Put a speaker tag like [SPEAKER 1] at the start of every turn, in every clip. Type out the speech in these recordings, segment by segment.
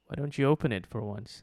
[SPEAKER 1] Why don't you open it for once?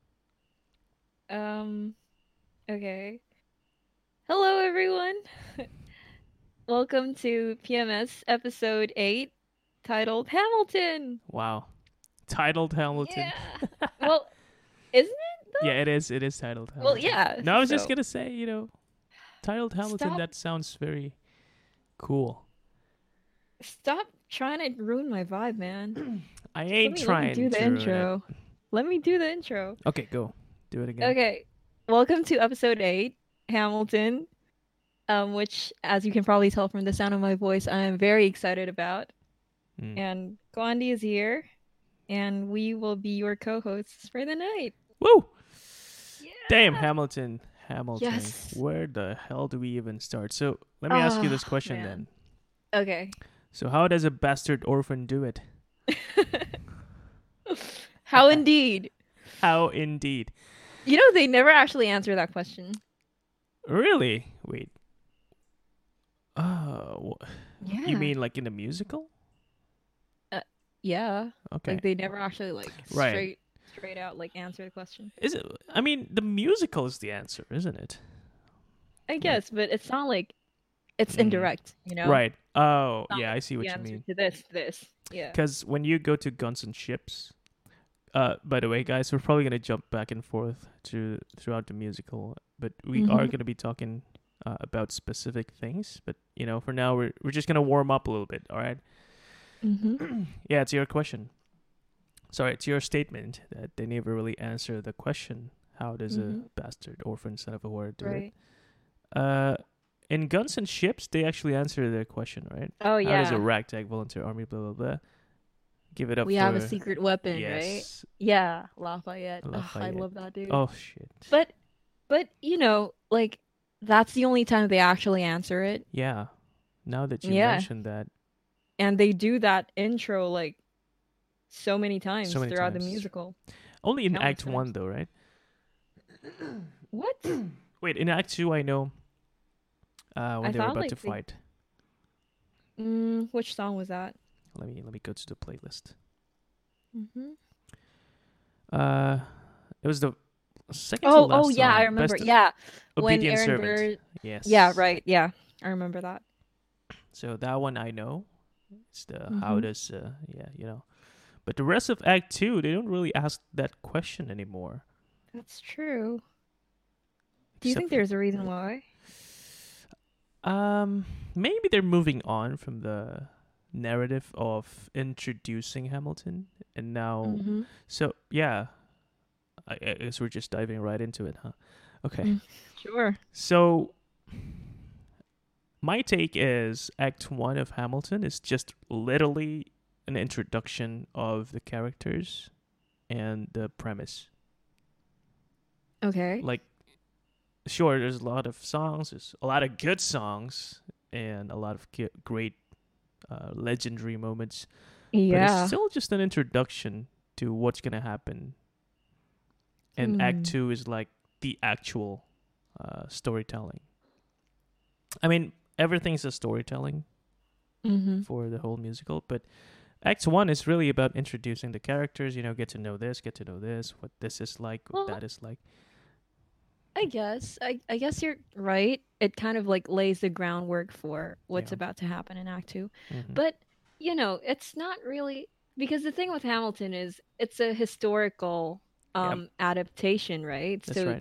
[SPEAKER 2] Um, okay. Hello, everyone. Welcome to PMS episode 8, titled Hamilton.
[SPEAKER 1] Wow. Titled Hamilton.
[SPEAKER 2] Yeah. Well, isn't it
[SPEAKER 1] Yeah,
[SPEAKER 2] though?
[SPEAKER 1] it is. It is titled
[SPEAKER 2] Well,
[SPEAKER 1] Hamilton.
[SPEAKER 2] yeah.
[SPEAKER 1] No, I was just
[SPEAKER 2] So,
[SPEAKER 1] gonna say, titled Hamilton.
[SPEAKER 2] stop
[SPEAKER 1] That sounds very cool.
[SPEAKER 2] stop trying to ruin my vibe, man.
[SPEAKER 1] I
[SPEAKER 2] Just let
[SPEAKER 1] ain't
[SPEAKER 2] me let me
[SPEAKER 1] trying
[SPEAKER 2] do the
[SPEAKER 1] to ruin it.
[SPEAKER 2] intro. Let me do the intro.
[SPEAKER 1] Okay, go. Do it again.
[SPEAKER 2] Okay. Welcome to episode 8, Hamilton, which as you can probably tell from the sound of my voice, I am very excited about.
[SPEAKER 1] Mm.
[SPEAKER 2] And Gandhi is here. And we will be your co-hosts for the night.
[SPEAKER 1] Woo! Damn,
[SPEAKER 2] Yeah.
[SPEAKER 1] Hamilton. Hamilton.
[SPEAKER 2] Yes.
[SPEAKER 1] Where the hell do we even start? So let me ask you this
[SPEAKER 2] Oh,
[SPEAKER 1] question then.
[SPEAKER 2] man. Okay.
[SPEAKER 1] So how does a bastard orphan do it?
[SPEAKER 2] How indeed.
[SPEAKER 1] How indeed.
[SPEAKER 2] They never actually answer that question.
[SPEAKER 1] Really? Wait. Oh, you
[SPEAKER 2] Yeah.
[SPEAKER 1] mean like in the musical?
[SPEAKER 2] Uh, yeah.
[SPEAKER 1] Okay.
[SPEAKER 2] Like they never actually like
[SPEAKER 1] Right.
[SPEAKER 2] straight out like answer the question.
[SPEAKER 1] Is it? I mean, the musical is the answer, isn't it?
[SPEAKER 2] I
[SPEAKER 1] Like,
[SPEAKER 2] guess, but it's not like it's
[SPEAKER 1] mm,
[SPEAKER 2] indirect.
[SPEAKER 1] right. Oh,
[SPEAKER 2] It's not
[SPEAKER 1] yeah,
[SPEAKER 2] like
[SPEAKER 1] I see
[SPEAKER 2] the
[SPEAKER 1] what you
[SPEAKER 2] answer
[SPEAKER 1] mean.
[SPEAKER 2] to this. Yeah.
[SPEAKER 1] Because when you go to Guns and Ships, by the way, guys, we're probably gonna jump back and forth throughout the musical, but we are
[SPEAKER 2] Mm-hmm.
[SPEAKER 1] gonna be talking about specific things. But for now, we're just gonna warm up a little bit. All right.
[SPEAKER 2] Mm-hmm.
[SPEAKER 1] Yeah, it's your question. Sorry, it's your statement that they never really answer the question. How does a
[SPEAKER 2] Mm-hmm.
[SPEAKER 1] bastard orphan son of a whore do it?
[SPEAKER 2] Right.
[SPEAKER 1] Uh, in Guns and Ships, they actually answer their question, right?
[SPEAKER 2] Oh
[SPEAKER 1] How does a
[SPEAKER 2] yeah.
[SPEAKER 1] ragtag volunteer army, blah, blah, blah, give it up
[SPEAKER 2] We have a
[SPEAKER 1] for,
[SPEAKER 2] secret weapon, right?
[SPEAKER 1] yes,
[SPEAKER 2] Yeah, Lafayette. Ugh, I
[SPEAKER 1] Lafayette.
[SPEAKER 2] love that dude.
[SPEAKER 1] Oh, shit.
[SPEAKER 2] But like that's the only time they actually answer it.
[SPEAKER 1] Yeah, now that you
[SPEAKER 2] Yeah.
[SPEAKER 1] mentioned that
[SPEAKER 2] And they do that intro like so many
[SPEAKER 1] so
[SPEAKER 2] times
[SPEAKER 1] many
[SPEAKER 2] throughout the
[SPEAKER 1] times.
[SPEAKER 2] musical.
[SPEAKER 1] Only in
[SPEAKER 2] Countless
[SPEAKER 1] Act
[SPEAKER 2] times.
[SPEAKER 1] 1, though, right?
[SPEAKER 2] What?
[SPEAKER 1] Wait, in Act 2, I know when
[SPEAKER 2] I
[SPEAKER 1] they were
[SPEAKER 2] thought
[SPEAKER 1] about to
[SPEAKER 2] like they
[SPEAKER 1] fight.
[SPEAKER 2] which song was that?
[SPEAKER 1] Let me go to the playlist.
[SPEAKER 2] Hmm.
[SPEAKER 1] Uh, it was the second to
[SPEAKER 2] Oh
[SPEAKER 1] last
[SPEAKER 2] yeah, I
[SPEAKER 1] song.
[SPEAKER 2] remember.
[SPEAKER 1] Best
[SPEAKER 2] Yeah. When
[SPEAKER 1] Obedient
[SPEAKER 2] Aaron
[SPEAKER 1] Servant.
[SPEAKER 2] Burr. Yeah,
[SPEAKER 1] Yes.
[SPEAKER 2] right. Yeah. I remember that.
[SPEAKER 1] So that one I know. It's the how
[SPEAKER 2] Hmm.
[SPEAKER 1] does yeah. But the rest of Act 2, they don't really ask that question anymore.
[SPEAKER 2] That's true. Do you
[SPEAKER 1] Except
[SPEAKER 2] think
[SPEAKER 1] for
[SPEAKER 2] there's a reason why?
[SPEAKER 1] um maybe they're moving on from the narrative of introducing Hamilton and now
[SPEAKER 2] Hmm.
[SPEAKER 1] so yeah, I guess we're just diving right into it, huh? Okay.
[SPEAKER 2] Sure.
[SPEAKER 1] So my take is Act 1 of Hamilton is just literally an introduction of the characters and the premise.
[SPEAKER 2] Okay.
[SPEAKER 1] Like, sure, there's a lot of songs, there's a lot of good songs, and a lot of great legendary moments, but it's
[SPEAKER 2] Yeah.
[SPEAKER 1] still just an introduction to what's going to happen. And Act
[SPEAKER 2] Hmm.
[SPEAKER 1] 2 is like the actual storytelling. I mean, everything's a storytelling
[SPEAKER 2] Hmm.
[SPEAKER 1] for the whole musical, but Act 1 is really about introducing the characters, get to know this, what this is like, what
[SPEAKER 2] Well,
[SPEAKER 1] that is like.
[SPEAKER 2] I guess you're right. It kind of like lays the groundwork for what's
[SPEAKER 1] Yeah.
[SPEAKER 2] about to happen in Act 2.
[SPEAKER 1] Hmm.
[SPEAKER 2] But, it's not really because the thing with Hamilton is it's a historical
[SPEAKER 1] Yeah,
[SPEAKER 2] adaptation, right?
[SPEAKER 1] that's
[SPEAKER 2] So
[SPEAKER 1] right.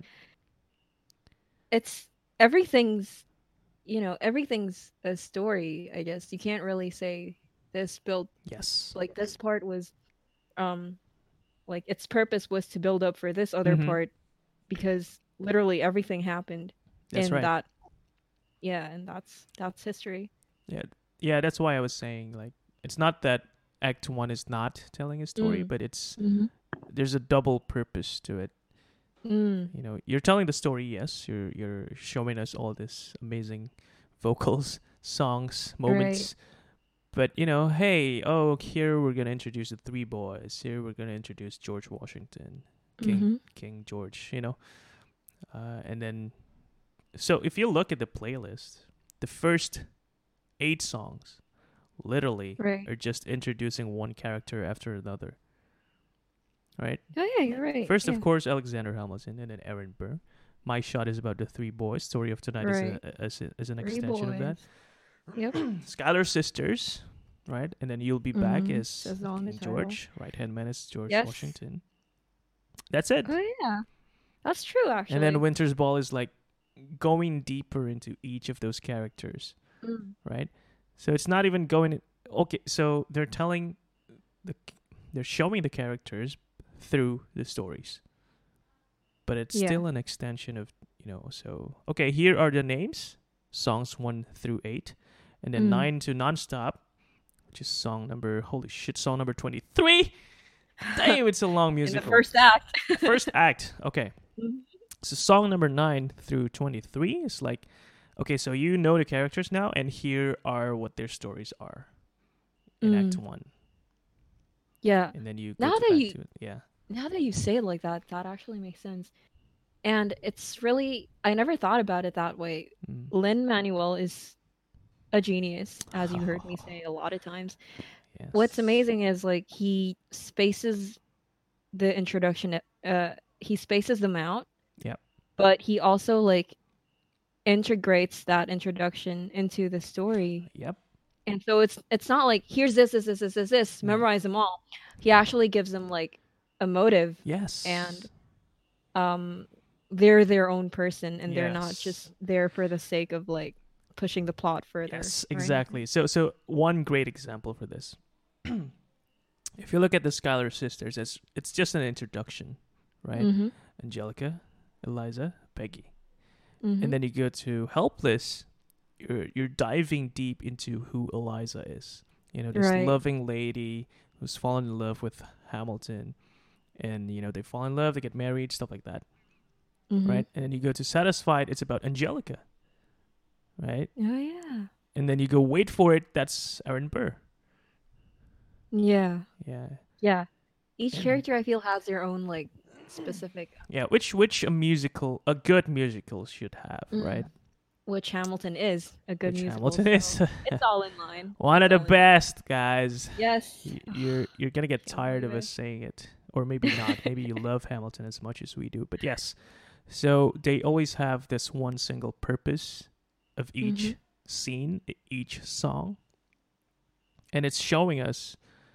[SPEAKER 2] it's everything's, everything's a story, I guess. You can't really say this built
[SPEAKER 1] Yes.
[SPEAKER 2] like this part was um like its purpose was to build up for this other
[SPEAKER 1] Hmm.
[SPEAKER 2] part because literally everything happened
[SPEAKER 1] That's
[SPEAKER 2] in
[SPEAKER 1] right.
[SPEAKER 2] that. Yeah, and that's history.
[SPEAKER 1] Yeah, yeah. That's why I was saying like it's not that Act 1 is not telling a story,
[SPEAKER 2] Mm.
[SPEAKER 1] but it's
[SPEAKER 2] Mm-hmm.
[SPEAKER 1] there's a double purpose to it.
[SPEAKER 2] Mm.
[SPEAKER 1] You're telling the story. Yes, you're showing us all this amazing vocals, songs,
[SPEAKER 2] Right.
[SPEAKER 1] moments. But hey, oh, here we're gonna introduce the three boys. Here we're gonna introduce George Washington, King
[SPEAKER 2] Mm-hmm.
[SPEAKER 1] King George. And then so if you look at the playlist, the first 8 songs literally
[SPEAKER 2] Right.
[SPEAKER 1] are just introducing one character after another. right?
[SPEAKER 2] Oh yeah, you're right.
[SPEAKER 1] First, of
[SPEAKER 2] Yeah.
[SPEAKER 1] course, Alexander Hamilton, and then Aaron Burr. My Shot is about the three boys. Story of Tonight is
[SPEAKER 2] Right.
[SPEAKER 1] is an
[SPEAKER 2] Three
[SPEAKER 1] extension of that.
[SPEAKER 2] boys. Yep.
[SPEAKER 1] Schuyler Sisters, right? And then You'll Be Back is
[SPEAKER 2] Says on the
[SPEAKER 1] King
[SPEAKER 2] title.
[SPEAKER 1] George. Right hand man is George
[SPEAKER 2] Yes.
[SPEAKER 1] Washington. That's it.
[SPEAKER 2] Oh yeah. That's true actually.
[SPEAKER 1] And then Winter's Ball is like going deeper into each of those characters,
[SPEAKER 2] Mm.
[SPEAKER 1] right? So it's not even going. Okay, so they're telling the, they're showing the characters through the stories, but it's
[SPEAKER 2] Yeah.
[SPEAKER 1] still an extension of, you know. So okay, here are the names, songs 1 through 8, and then 9 to Nonstop, which is song number 23. Damn, it's a long
[SPEAKER 2] In
[SPEAKER 1] musical.
[SPEAKER 2] the first act.
[SPEAKER 1] First act. Okay.
[SPEAKER 2] Mhm.
[SPEAKER 1] So song number 9 through 23 is like, okay, so you know the characters now, and here are what their stories are in Act 1.
[SPEAKER 2] Yeah.
[SPEAKER 1] And then you go
[SPEAKER 2] Now
[SPEAKER 1] to
[SPEAKER 2] that
[SPEAKER 1] Act
[SPEAKER 2] you
[SPEAKER 1] 2. Yeah.
[SPEAKER 2] now that you say it like that, that actually makes sense. And it's really I never thought about it that way.
[SPEAKER 1] Mm.
[SPEAKER 2] Lin Manuel is a genius, as you heard me say a lot of times.
[SPEAKER 1] Yes.
[SPEAKER 2] What's amazing is like he spaces the introduction he spaces them out.
[SPEAKER 1] Yep.
[SPEAKER 2] But he also like integrates that introduction into the story.
[SPEAKER 1] Yep.
[SPEAKER 2] And so it's not like here's this,
[SPEAKER 1] Mm.
[SPEAKER 2] memorize them all. He actually gives them like a motive,
[SPEAKER 1] Yes.
[SPEAKER 2] and they're their own person, and they're not
[SPEAKER 1] Yes.
[SPEAKER 2] just there for the sake of like pushing the plot further.
[SPEAKER 1] Yes,
[SPEAKER 2] right?
[SPEAKER 1] exactly. So one great example for this. If you look at the Schuyler Sisters, it's just an introduction, right?
[SPEAKER 2] Mm-hmm.
[SPEAKER 1] Angelica, Eliza, Peggy.
[SPEAKER 2] Mm-hmm.
[SPEAKER 1] And then you go to Helpless, you're diving deep into who Eliza is. You know, this
[SPEAKER 2] Right.
[SPEAKER 1] loving lady who's fallen in love with Hamilton, and you know they fall in love, they get married, stuff like that,
[SPEAKER 2] Mm-hmm.
[SPEAKER 1] right? And then you go to Satisfied, it's about Angelica, right?
[SPEAKER 2] Oh yeah.
[SPEAKER 1] And then you go Wait for It, that's Aaron Burr.
[SPEAKER 2] Yeah.
[SPEAKER 1] Yeah,
[SPEAKER 2] Yeah. Each
[SPEAKER 1] And-
[SPEAKER 2] character I feel has their own like specific
[SPEAKER 1] yeah. Which a good musical should have, right?
[SPEAKER 2] which Hamilton is a good
[SPEAKER 1] Which
[SPEAKER 2] musical.
[SPEAKER 1] Hamilton is
[SPEAKER 2] so it's all in line.
[SPEAKER 1] one of
[SPEAKER 2] It's
[SPEAKER 1] the
[SPEAKER 2] all in-
[SPEAKER 1] best, guys.
[SPEAKER 2] Yes.
[SPEAKER 1] You're gonna get
[SPEAKER 2] Can't
[SPEAKER 1] tired of
[SPEAKER 2] believe
[SPEAKER 1] us saying it, or maybe not. Maybe you love Hamilton as much as we do, but yes. So they always have this one single purpose of each
[SPEAKER 2] Mhm.
[SPEAKER 1] scene, each song, and it's showing us.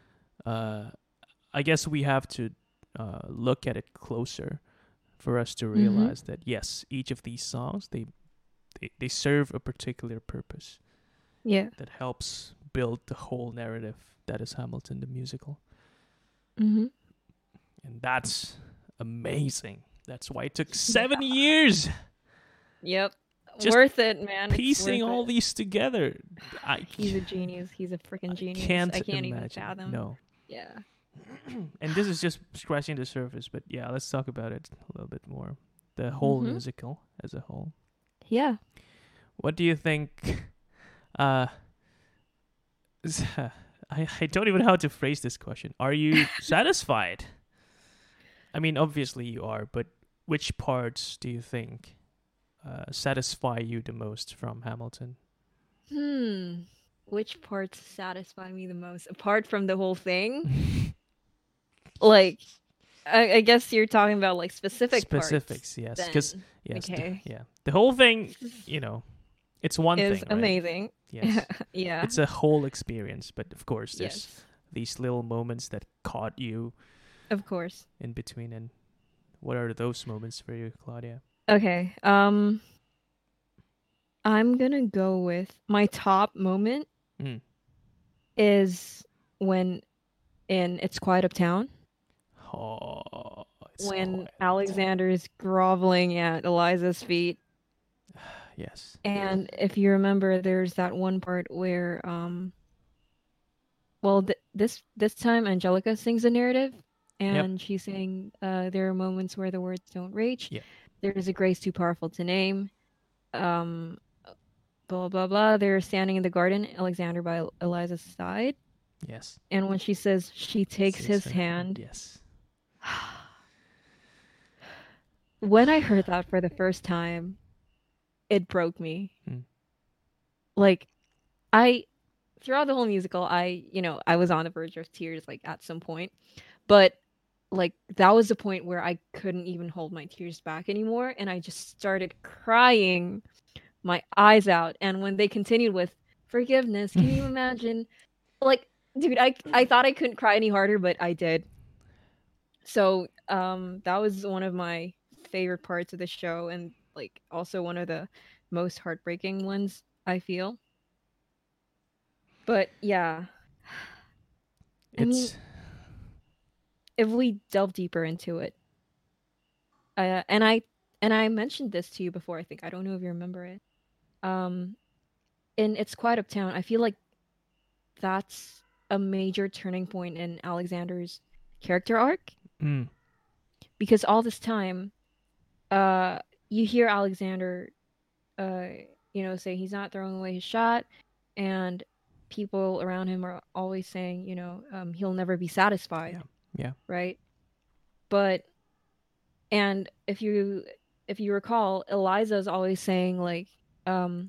[SPEAKER 1] I guess we have to look at it closer for us to realize that yes, each of these songs they serve a particular purpose
[SPEAKER 2] Yeah.
[SPEAKER 1] that helps build the whole narrative that is Hamilton the musical.
[SPEAKER 2] Mm-hmm.
[SPEAKER 1] And that's amazing. That's why it took 7 years
[SPEAKER 2] Yep.
[SPEAKER 1] Just
[SPEAKER 2] worth it, man. It's
[SPEAKER 1] piecing
[SPEAKER 2] worth
[SPEAKER 1] all
[SPEAKER 2] it.
[SPEAKER 1] these together.
[SPEAKER 2] He's a genius. He's a freaking genius.
[SPEAKER 1] can't
[SPEAKER 2] I can't even
[SPEAKER 1] imagine.
[SPEAKER 2] fathom.
[SPEAKER 1] No.
[SPEAKER 2] Yeah.
[SPEAKER 1] And this is just scratching the surface, but yeah, let's talk about it a little bit more. The whole
[SPEAKER 2] Mhm.
[SPEAKER 1] musical as a whole.
[SPEAKER 2] Yeah.
[SPEAKER 1] What do you think? I don't even know how to phrase this question. Are you satisfied? I mean, obviously you are, but which parts do you think satisfy you the most from Hamilton?
[SPEAKER 2] Which parts satisfy me the most apart from the whole thing? Like, I guess you're talking about like
[SPEAKER 1] Specifics,
[SPEAKER 2] parts.
[SPEAKER 1] yes, because
[SPEAKER 2] Then.
[SPEAKER 1] yes,
[SPEAKER 2] Okay.
[SPEAKER 1] the whole thing, you know, it's one
[SPEAKER 2] Is
[SPEAKER 1] thing, right?
[SPEAKER 2] amazing.
[SPEAKER 1] Yes,
[SPEAKER 2] Yeah.
[SPEAKER 1] it's a whole experience, but of course, there's
[SPEAKER 2] Yes.
[SPEAKER 1] these little moments that caught you
[SPEAKER 2] Of course.
[SPEAKER 1] in between. And what are those moments for you, Claudia?
[SPEAKER 2] Okay. I'm gonna go with my top moment
[SPEAKER 1] Mm.
[SPEAKER 2] is when in It's Quiet Uptown
[SPEAKER 1] Oh, it's
[SPEAKER 2] when
[SPEAKER 1] quiet.
[SPEAKER 2] Alexander is groveling at Eliza's feet.
[SPEAKER 1] Yes.
[SPEAKER 2] And if you remember, there's that one part where well, this time Angelica sings the narrative, and she's saying there are moments where the words don't reach.
[SPEAKER 1] Yeah.
[SPEAKER 2] There's a grace too powerful to name. Blah blah blah. They're standing in the garden, Alexander by Eliza's side,
[SPEAKER 1] Yes.
[SPEAKER 2] and when she says she takes his hand,
[SPEAKER 1] Yes.
[SPEAKER 2] when I heard that for the first time, it broke me.
[SPEAKER 1] Mm.
[SPEAKER 2] Like, throughout the whole musical, I was on the verge of tears, like, at some point. But, like that was the point where I couldn't even hold my tears back anymore, and I just started crying my eyes out. And when they continued with forgiveness, can you imagine? Like, dude, I thought I couldn't cry any harder, but I did. So that was one of my favorite parts of the show, and like also one of the most heartbreaking ones, I feel. But yeah, I mean,
[SPEAKER 1] It's
[SPEAKER 2] if we delve deeper into it, uh, and I and I mentioned this to you before. I think I don't know if you remember it. Um, in It's Quiet Uptown, I feel like that's a major turning point in Alexander's character arc,
[SPEAKER 1] mm,
[SPEAKER 2] because all this time, uh, you hear Alexander, uh, say he's not throwing away his shot, and people around him are always saying, he'll never be
[SPEAKER 1] yeah,
[SPEAKER 2] satisfied,
[SPEAKER 1] yeah.
[SPEAKER 2] right? But and if you recall, Eliza's always saying like, um,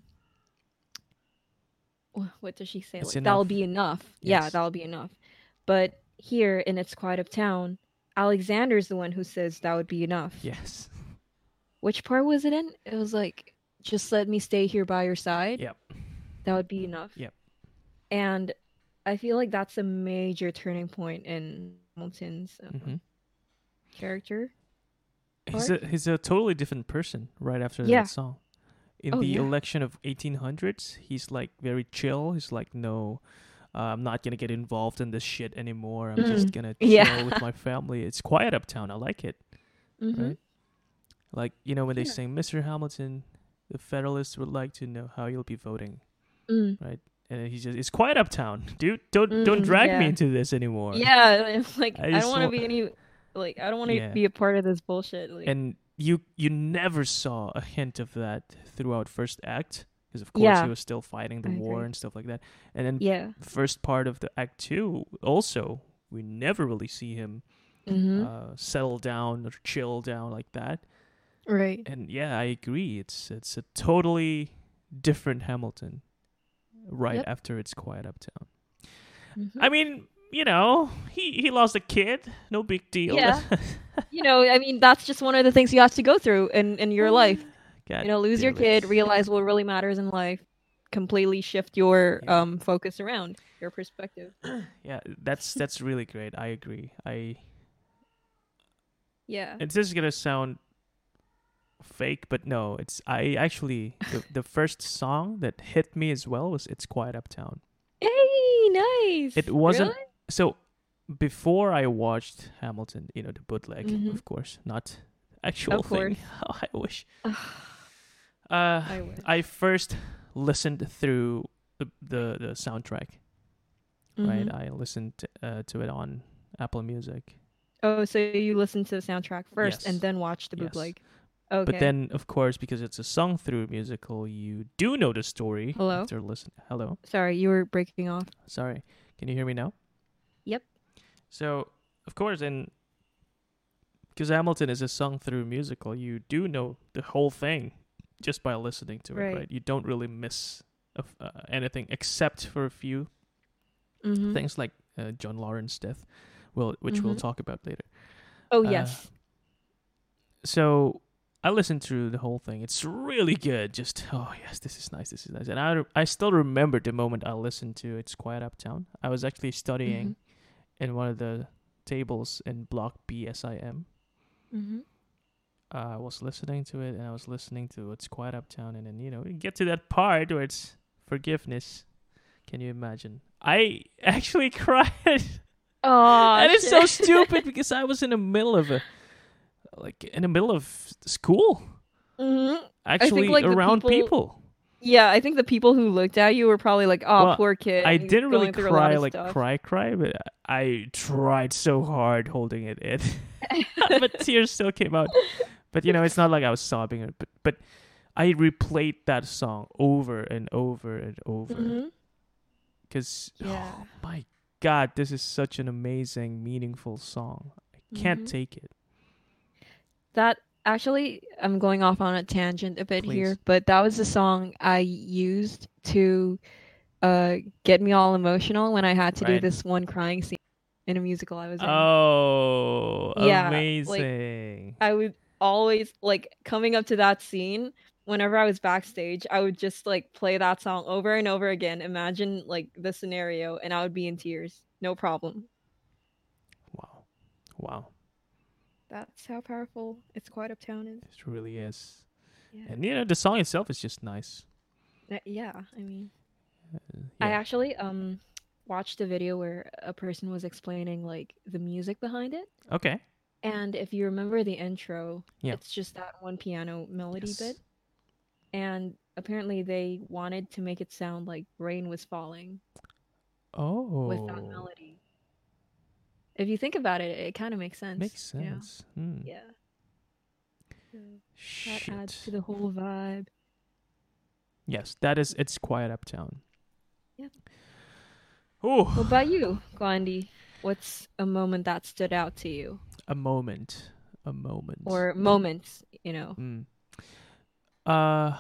[SPEAKER 2] what does she say?
[SPEAKER 1] It's
[SPEAKER 2] Like, that'll
[SPEAKER 1] enough.
[SPEAKER 2] be enough. Yeah,
[SPEAKER 1] Yes,
[SPEAKER 2] that'll be enough. But here in It's Quiet Uptown, Alexander's the one who says that would be enough.
[SPEAKER 1] yes,
[SPEAKER 2] Which part was it in? It was like, just let me stay here by your side.
[SPEAKER 1] yep,
[SPEAKER 2] That would be enough.
[SPEAKER 1] yep.
[SPEAKER 2] And I feel like that's a major turning point in Hamilton's
[SPEAKER 1] Hmm.
[SPEAKER 2] character
[SPEAKER 1] He's
[SPEAKER 2] arc.
[SPEAKER 1] a totally different person right after that
[SPEAKER 2] Yeah.
[SPEAKER 1] song. In
[SPEAKER 2] Oh
[SPEAKER 1] the
[SPEAKER 2] yeah.
[SPEAKER 1] election of 1800s, he's like very chill. He's like, no, I'm not gonna get involved in this shit anymore. I'm just gonna chill with
[SPEAKER 2] Yeah.
[SPEAKER 1] my family. It's quiet uptown. I like it,
[SPEAKER 2] Mm-hmm.
[SPEAKER 1] right? Like, when they
[SPEAKER 2] Yeah.
[SPEAKER 1] sing Mr. Hamilton, the Federalists would like to know how you'll be voting,
[SPEAKER 2] Mm.
[SPEAKER 1] right? And then he's just, it's quiet uptown, dude. Don't drag me
[SPEAKER 2] Yeah.
[SPEAKER 1] into this anymore.
[SPEAKER 2] Yeah. It's like,
[SPEAKER 1] I
[SPEAKER 2] I don't
[SPEAKER 1] just
[SPEAKER 2] want to
[SPEAKER 1] want,
[SPEAKER 2] be any, like, I don't want to
[SPEAKER 1] yeah.
[SPEAKER 2] be a part of this bullshit. Like,
[SPEAKER 1] And you never saw a hint of that throughout first act, because of course he
[SPEAKER 2] yeah,
[SPEAKER 1] was still fighting the
[SPEAKER 2] I
[SPEAKER 1] war
[SPEAKER 2] agree.
[SPEAKER 1] and stuff like that. And then
[SPEAKER 2] Yeah.
[SPEAKER 1] first part of the act two also, we never really see him
[SPEAKER 2] Mm-hmm.
[SPEAKER 1] settle down or chill down like that.
[SPEAKER 2] Right.
[SPEAKER 1] And yeah, I agree. It's a totally different Hamilton right
[SPEAKER 2] Yep.
[SPEAKER 1] after It's Quiet Uptown.
[SPEAKER 2] Mm-hmm.
[SPEAKER 1] I mean, he lost a kid, no big deal.
[SPEAKER 2] Yeah. I mean, that's just one of the things you have to go through in your life.
[SPEAKER 1] God
[SPEAKER 2] Lose your
[SPEAKER 1] damn it.
[SPEAKER 2] kid, realize what really matters in life, completely shift your
[SPEAKER 1] Yeah.
[SPEAKER 2] focus around your perspective.
[SPEAKER 1] Yeah, that's really great. I agree.
[SPEAKER 2] Yeah.
[SPEAKER 1] It's just gonna sound fake, but no, I actually the first song that hit me as well was It's Quiet Uptown.
[SPEAKER 2] Hey, nice.
[SPEAKER 1] It wasn't
[SPEAKER 2] Really?
[SPEAKER 1] so before I watched Hamilton, the bootleg,
[SPEAKER 2] Mhm.
[SPEAKER 1] of course, not actual
[SPEAKER 2] Of
[SPEAKER 1] thing.
[SPEAKER 2] course.
[SPEAKER 1] I wish.
[SPEAKER 2] I wish.
[SPEAKER 1] I first listened through the soundtrack, right?
[SPEAKER 2] Mhm.
[SPEAKER 1] I listened to it on Apple Music.
[SPEAKER 2] Oh, so you listened to the soundtrack first
[SPEAKER 1] Yes.
[SPEAKER 2] and then watched the
[SPEAKER 1] Yes.
[SPEAKER 2] bootleg.
[SPEAKER 1] But
[SPEAKER 2] Okay.
[SPEAKER 1] then, of course, because it's a sung through musical, you do know the story
[SPEAKER 2] Hello?
[SPEAKER 1] after listen. Hello,
[SPEAKER 2] Sorry, you were breaking off.
[SPEAKER 1] sorry. Can you hear me now?
[SPEAKER 2] Yep.
[SPEAKER 1] So, of course, and because Hamilton is a sung through musical, you do know the whole thing just by listening to it,
[SPEAKER 2] Right.
[SPEAKER 1] right? You don't really miss anything except for a few
[SPEAKER 2] Mhm.
[SPEAKER 1] things like John Lawrence death, which we'll
[SPEAKER 2] Mhm.
[SPEAKER 1] talk about later.
[SPEAKER 2] Oh,
[SPEAKER 1] Uh,
[SPEAKER 2] yes.
[SPEAKER 1] So I listened through the whole thing. It's really good. Just yes, this is nice. This is nice. And I still remember the moment I listened to It's Quiet Uptown. I was actually studying
[SPEAKER 2] Mhm.
[SPEAKER 1] in one of the tables in Block BSIM.
[SPEAKER 2] Mhm.
[SPEAKER 1] I was listening to it, and I was listening to It's Quiet Uptown, and then you get to that part where it's forgiveness. Can you imagine? I actually cried,
[SPEAKER 2] Oh,
[SPEAKER 1] and it's so
[SPEAKER 2] shit.
[SPEAKER 1] stupid because I was in the middle of school,
[SPEAKER 2] Mhm.
[SPEAKER 1] actually
[SPEAKER 2] like, the
[SPEAKER 1] around
[SPEAKER 2] people-
[SPEAKER 1] people.
[SPEAKER 2] Yeah, I think the people who looked at you were probably like, "Oh,
[SPEAKER 1] Well,
[SPEAKER 2] poor kid."
[SPEAKER 1] I
[SPEAKER 2] he's
[SPEAKER 1] didn't really
[SPEAKER 2] going through a lot
[SPEAKER 1] cry
[SPEAKER 2] of
[SPEAKER 1] like
[SPEAKER 2] stuff."
[SPEAKER 1] cry, but I tried so hard holding it in, but tears still came out. But it's not like I was sobbing. But I replayed that song over and over and over
[SPEAKER 2] Mhm.
[SPEAKER 1] because
[SPEAKER 2] Yeah.
[SPEAKER 1] oh my God, this is such an amazing, meaningful song. I can't
[SPEAKER 2] Mhm.
[SPEAKER 1] take it.
[SPEAKER 2] That actually, I'm going off on a tangent a bit
[SPEAKER 1] Please.
[SPEAKER 2] here, but that was the song I used to get me all emotional when I had to do
[SPEAKER 1] Right.
[SPEAKER 2] this one crying scene. in a musical I was in.
[SPEAKER 1] Oh,
[SPEAKER 2] Yeah, like
[SPEAKER 1] amazing.
[SPEAKER 2] I would always like coming up to that scene. Whenever I was backstage, I would just like play that song over and over again. Imagine like the scenario, and I would be in tears. No problem.
[SPEAKER 1] Wow. Wow.
[SPEAKER 2] That's how powerful It's Quiet Uptown is.
[SPEAKER 1] It really is.
[SPEAKER 2] Yeah.
[SPEAKER 1] And the song itself is just nice.
[SPEAKER 2] Yeah, I mean, I
[SPEAKER 1] Yeah.
[SPEAKER 2] actually watched a video where a person was explaining like the music behind it.
[SPEAKER 1] Okay.
[SPEAKER 2] And if you remember the intro,
[SPEAKER 1] Yeah.
[SPEAKER 2] it's just that one piano melody bit.
[SPEAKER 1] Yes.
[SPEAKER 2] And apparently they wanted to make it sound like rain was falling with that
[SPEAKER 1] Oh,
[SPEAKER 2] melody. If you think about it, it kind of makes sense,
[SPEAKER 1] makes
[SPEAKER 2] you know?
[SPEAKER 1] sense. Hmm.
[SPEAKER 2] Yeah. So that adds to
[SPEAKER 1] Shit.
[SPEAKER 2] the whole vibe.
[SPEAKER 1] Yes, that is. It's Quiet Uptown.
[SPEAKER 2] Yeah. What
[SPEAKER 1] Oh,
[SPEAKER 2] about you, Gandhi? What's a moment that stood out to you?
[SPEAKER 1] a moment. A moment.
[SPEAKER 2] Or moments, you know?
[SPEAKER 1] Hmm. Uh,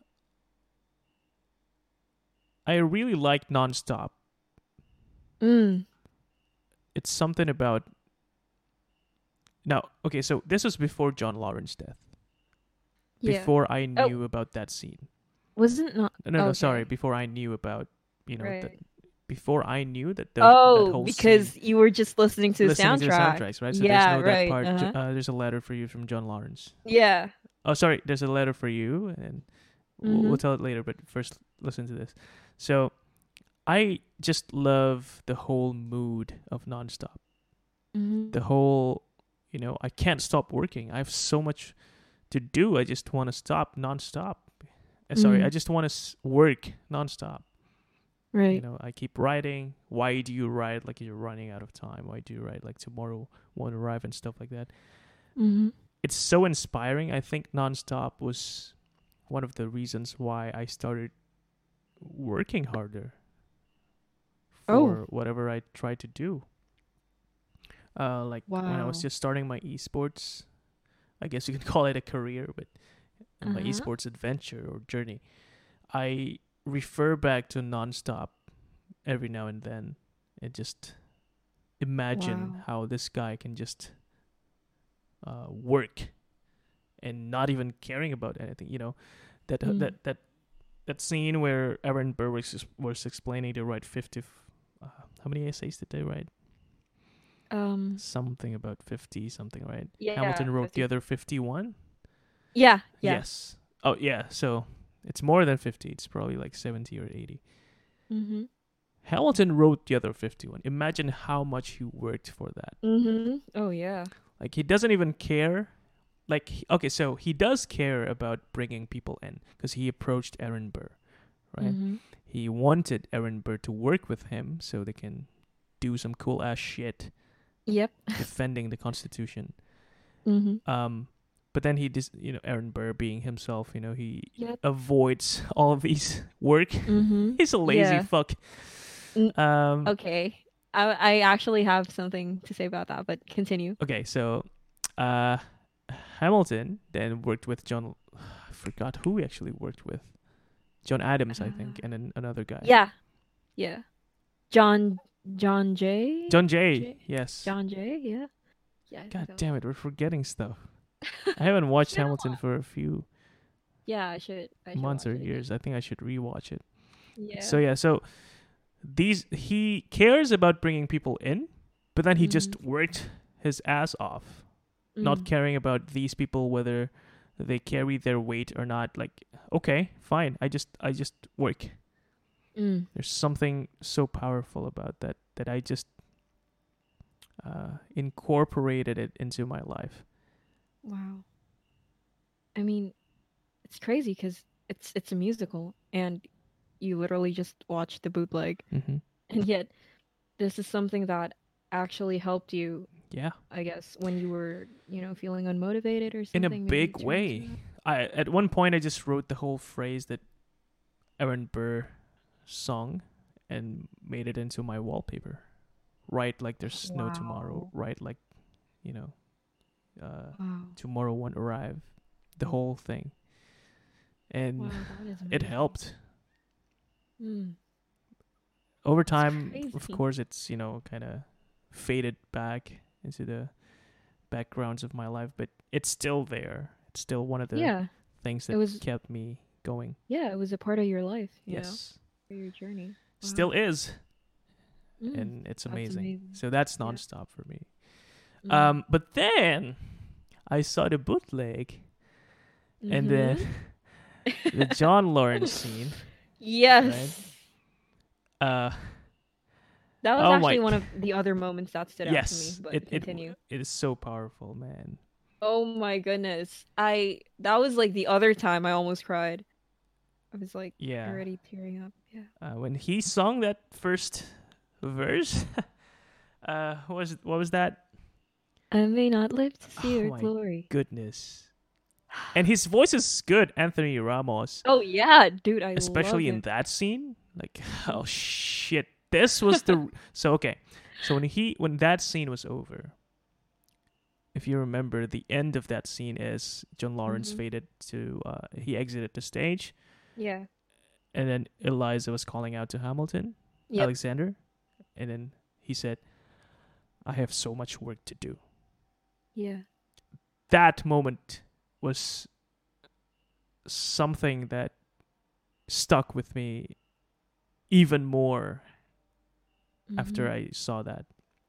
[SPEAKER 1] I really like Nonstop.
[SPEAKER 2] Mm.
[SPEAKER 1] It's something about now. Okay, so this was before John Lawrence's death.
[SPEAKER 2] Yeah.
[SPEAKER 1] Before I
[SPEAKER 2] Oh,
[SPEAKER 1] knew about that scene.
[SPEAKER 2] wasn't not
[SPEAKER 1] No, no, sorry.
[SPEAKER 2] okay.
[SPEAKER 1] Before I knew about that.
[SPEAKER 2] Right.
[SPEAKER 1] Before I knew that that
[SPEAKER 2] Oh,
[SPEAKER 1] whole scene.
[SPEAKER 2] because you were just listening to the
[SPEAKER 1] Listening to the
[SPEAKER 2] soundtrack.
[SPEAKER 1] soundtracks, right? So there's
[SPEAKER 2] Yeah,
[SPEAKER 1] no that
[SPEAKER 2] right.
[SPEAKER 1] part.
[SPEAKER 2] Uh-huh.
[SPEAKER 1] There's a letter for you from John Lawrence.
[SPEAKER 2] Yeah.
[SPEAKER 1] Oh, sorry. There's a letter for you, and we'll
[SPEAKER 2] Mhm.
[SPEAKER 1] tell it later. But first, listen to this. So I just love the whole mood of Nonstop.
[SPEAKER 2] Mhm.
[SPEAKER 1] The whole, I can't stop working. I have so much to do. I just want to stop nonstop. Sorry, I
[SPEAKER 2] Mhm.
[SPEAKER 1] just want to work nonstop.
[SPEAKER 2] Right.
[SPEAKER 1] I keep writing. Why do you write like you're running out of time? Why do you write like tomorrow won't arrive and stuff like that?
[SPEAKER 2] Mhm.
[SPEAKER 1] It's so inspiring. I think Nonstop was one of the reasons why I started working harder
[SPEAKER 2] Oh,
[SPEAKER 1] for whatever I tried to do. Like when I was
[SPEAKER 2] wow.
[SPEAKER 1] just starting my esports, I guess you could call it a career, but my
[SPEAKER 2] Uh-huh.
[SPEAKER 1] esports adventure or journey, I refer back to Nonstop every now and then and just imagine
[SPEAKER 2] Wow.
[SPEAKER 1] how this guy can just work and not even caring about anything. That uh,
[SPEAKER 2] Mm.
[SPEAKER 1] that that that scene where Aaron Burr was explaining to write 50. How many essays did they write?
[SPEAKER 2] Um,
[SPEAKER 1] Something about 50 something, right?
[SPEAKER 2] yeah,
[SPEAKER 1] Hamilton wrote the
[SPEAKER 2] 50.
[SPEAKER 1] other 51.
[SPEAKER 2] Yeah, yeah.
[SPEAKER 1] Yes. Oh yeah. So it's more than 50. It's probably like 70 or 80.
[SPEAKER 2] Mhm.
[SPEAKER 1] Hamilton wrote the other 51. Imagine how much he worked for that.
[SPEAKER 2] Mhm. Oh, yeah.
[SPEAKER 1] Like he doesn't even care. Like okay, so he does care about bringing people in because he approached Aaron Burr, right?
[SPEAKER 2] Mhm.
[SPEAKER 1] He wanted Aaron Burr to work with him so they can do some cool ass shit
[SPEAKER 2] Yep.
[SPEAKER 1] defending the Constitution.
[SPEAKER 2] Mhm.
[SPEAKER 1] But then Aaron Burr being himself, he
[SPEAKER 2] Yep.
[SPEAKER 1] avoids all of these work.
[SPEAKER 2] Mhm.
[SPEAKER 1] He's a lazy
[SPEAKER 2] Yeah.
[SPEAKER 1] fuck.
[SPEAKER 2] N-
[SPEAKER 1] Um,
[SPEAKER 2] okay. I actually have something to say about that, but continue.
[SPEAKER 1] okay, so uh, Hamilton then worked with John. I forgot who he actually worked with. John Adams, I think,
[SPEAKER 2] Uh,
[SPEAKER 1] and then another guy.
[SPEAKER 2] yeah. Yeah. John John Jay?
[SPEAKER 1] John Jay,
[SPEAKER 2] J
[SPEAKER 1] yes.
[SPEAKER 2] John Jay? Yeah. Yeah, I think
[SPEAKER 1] God
[SPEAKER 2] that was
[SPEAKER 1] damn it, we're forgetting stuff. I haven't watched
[SPEAKER 2] It's been a
[SPEAKER 1] Hamilton
[SPEAKER 2] while.
[SPEAKER 1] for a few
[SPEAKER 2] Yeah, I should
[SPEAKER 1] months
[SPEAKER 2] watch
[SPEAKER 1] or
[SPEAKER 2] it again.
[SPEAKER 1] years. I think I should rewatch it. So
[SPEAKER 2] Yeah.
[SPEAKER 1] yeah, so he cares about bringing people in, but then he
[SPEAKER 2] Mhm.
[SPEAKER 1] just worked his ass off, not
[SPEAKER 2] Mm.
[SPEAKER 1] caring about these people whether they carry their weight or not. Like, okay, fine, I just work.
[SPEAKER 2] Mm.
[SPEAKER 1] There's something so powerful about that I just incorporated it into my life.
[SPEAKER 2] Wow. I mean, it's crazy because it's a musical, and you literally just watch the bootleg,
[SPEAKER 1] Hmm.
[SPEAKER 2] and yet this is something that actually helped you,
[SPEAKER 1] Yeah,
[SPEAKER 2] I guess, when you were, feeling unmotivated or
[SPEAKER 1] in a
[SPEAKER 2] something. Maybe you
[SPEAKER 1] big
[SPEAKER 2] turned to
[SPEAKER 1] way.
[SPEAKER 2] that.
[SPEAKER 1] I At one point I just wrote the whole phrase that Aaron Burr sung and made it into my wallpaper. Right, like there's no tomorrow.
[SPEAKER 2] Wow.
[SPEAKER 1] Right, like you know,
[SPEAKER 2] Wow.
[SPEAKER 1] tomorrow won't arrive. The whole thing, and
[SPEAKER 2] Wow, that is
[SPEAKER 1] it
[SPEAKER 2] amazing.
[SPEAKER 1] helped.
[SPEAKER 2] Mm.
[SPEAKER 1] Over
[SPEAKER 2] It's
[SPEAKER 1] time, of
[SPEAKER 2] crazy.
[SPEAKER 1] course, it's kind of faded back into the backgrounds of my life, but it's still there. It's still one of the
[SPEAKER 2] Yeah.
[SPEAKER 1] things
[SPEAKER 2] It
[SPEAKER 1] that
[SPEAKER 2] was
[SPEAKER 1] kept me going.
[SPEAKER 2] yeah, it was a part of your life,
[SPEAKER 1] Yes,
[SPEAKER 2] for your journey.
[SPEAKER 1] still
[SPEAKER 2] Wow.
[SPEAKER 1] is,
[SPEAKER 2] Mm,
[SPEAKER 1] and it's
[SPEAKER 2] that's
[SPEAKER 1] amazing.
[SPEAKER 2] amazing.
[SPEAKER 1] So that's
[SPEAKER 2] Yeah.
[SPEAKER 1] nonstop for me.
[SPEAKER 2] Mm.
[SPEAKER 1] But then I saw the bootleg, and then
[SPEAKER 2] Mhm.
[SPEAKER 1] the John Lawrence scene, right?
[SPEAKER 2] Yes.
[SPEAKER 1] Uh,
[SPEAKER 2] That was
[SPEAKER 1] oh my,
[SPEAKER 2] actually one of the other moments that stood out to me,
[SPEAKER 1] yes,
[SPEAKER 2] but continue.
[SPEAKER 1] it is so powerful, man.
[SPEAKER 2] Oh my goodness. That was like the other time I almost cried. I was like
[SPEAKER 1] Yeah,
[SPEAKER 2] already tearing up. Yeah.
[SPEAKER 1] when he sung that first verse, what was that?
[SPEAKER 2] I may not live to see
[SPEAKER 1] Oh
[SPEAKER 2] your
[SPEAKER 1] my
[SPEAKER 2] glory.
[SPEAKER 1] goodness! And his voice is good, Anthony Ramos,
[SPEAKER 2] Oh yeah, dude, I
[SPEAKER 1] especially
[SPEAKER 2] love
[SPEAKER 1] in
[SPEAKER 2] him.
[SPEAKER 1] that scene. Like, oh shit, this was the so okay. So when that scene was over, if you remember, the end of that scene is John Lawrence
[SPEAKER 2] Mhm.
[SPEAKER 1] faded to he exited the stage,
[SPEAKER 2] Yeah.
[SPEAKER 1] and then Eliza was calling out to Hamilton,
[SPEAKER 2] Yep.
[SPEAKER 1] Alexander, and then he said, "I have so much work to do."
[SPEAKER 2] Yeah.
[SPEAKER 1] That moment was something that stuck with me even more after
[SPEAKER 2] Mhm.
[SPEAKER 1] I saw that.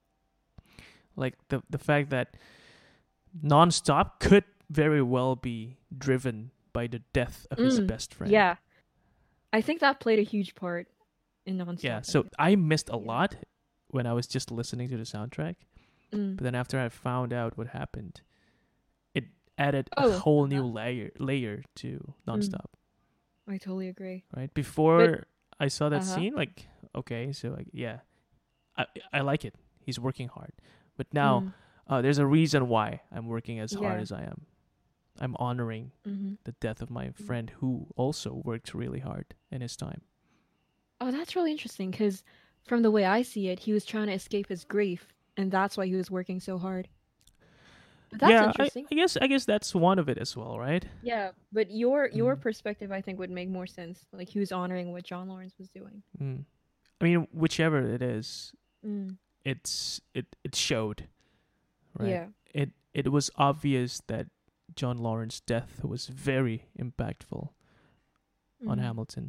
[SPEAKER 1] Like the fact that nonstop could very well be driven by the death of his
[SPEAKER 2] Mm.
[SPEAKER 1] best friend.
[SPEAKER 2] Yeah. I think that played a huge part in
[SPEAKER 1] Yeah,
[SPEAKER 2] Nonstop, I
[SPEAKER 1] so
[SPEAKER 2] think.
[SPEAKER 1] I missed a
[SPEAKER 2] Yeah.
[SPEAKER 1] lot when I was just listening to the soundtrack,
[SPEAKER 2] Mm.
[SPEAKER 1] but then after I found out what happened, it added a
[SPEAKER 2] Oh.
[SPEAKER 1] whole new
[SPEAKER 2] Uh-huh.
[SPEAKER 1] layer to
[SPEAKER 2] Mm.
[SPEAKER 1] nonstop.
[SPEAKER 2] I totally agree.
[SPEAKER 1] Right
[SPEAKER 2] But
[SPEAKER 1] before I saw that
[SPEAKER 2] uh-huh.
[SPEAKER 1] scene, like okay, so like yeah, I I like it. He's working hard, but now
[SPEAKER 2] Mm.
[SPEAKER 1] there's a reason why I'm working as hard
[SPEAKER 2] Yeah.
[SPEAKER 1] as I am. I'm honoring
[SPEAKER 2] Mhm.
[SPEAKER 1] the death of my
[SPEAKER 2] Mm.
[SPEAKER 1] friend who also worked really hard in his time.
[SPEAKER 2] Oh, that's really interesting because from the way I see it, he was trying to escape his grief, and that's why he was working so hard. But that's
[SPEAKER 1] Yeah,
[SPEAKER 2] interesting.
[SPEAKER 1] I guess that's one of it as well, right?
[SPEAKER 2] Yeah, but your
[SPEAKER 1] Mm,
[SPEAKER 2] perspective, I think, would make more sense. Like he was honoring what John Lawrence was doing.
[SPEAKER 1] mm. I mean, whichever it is,
[SPEAKER 2] Mm.
[SPEAKER 1] it showed, right?
[SPEAKER 2] Yeah.
[SPEAKER 1] It was obvious that John Lawrence's death was very impactful on
[SPEAKER 2] Mm.
[SPEAKER 1] Hamilton.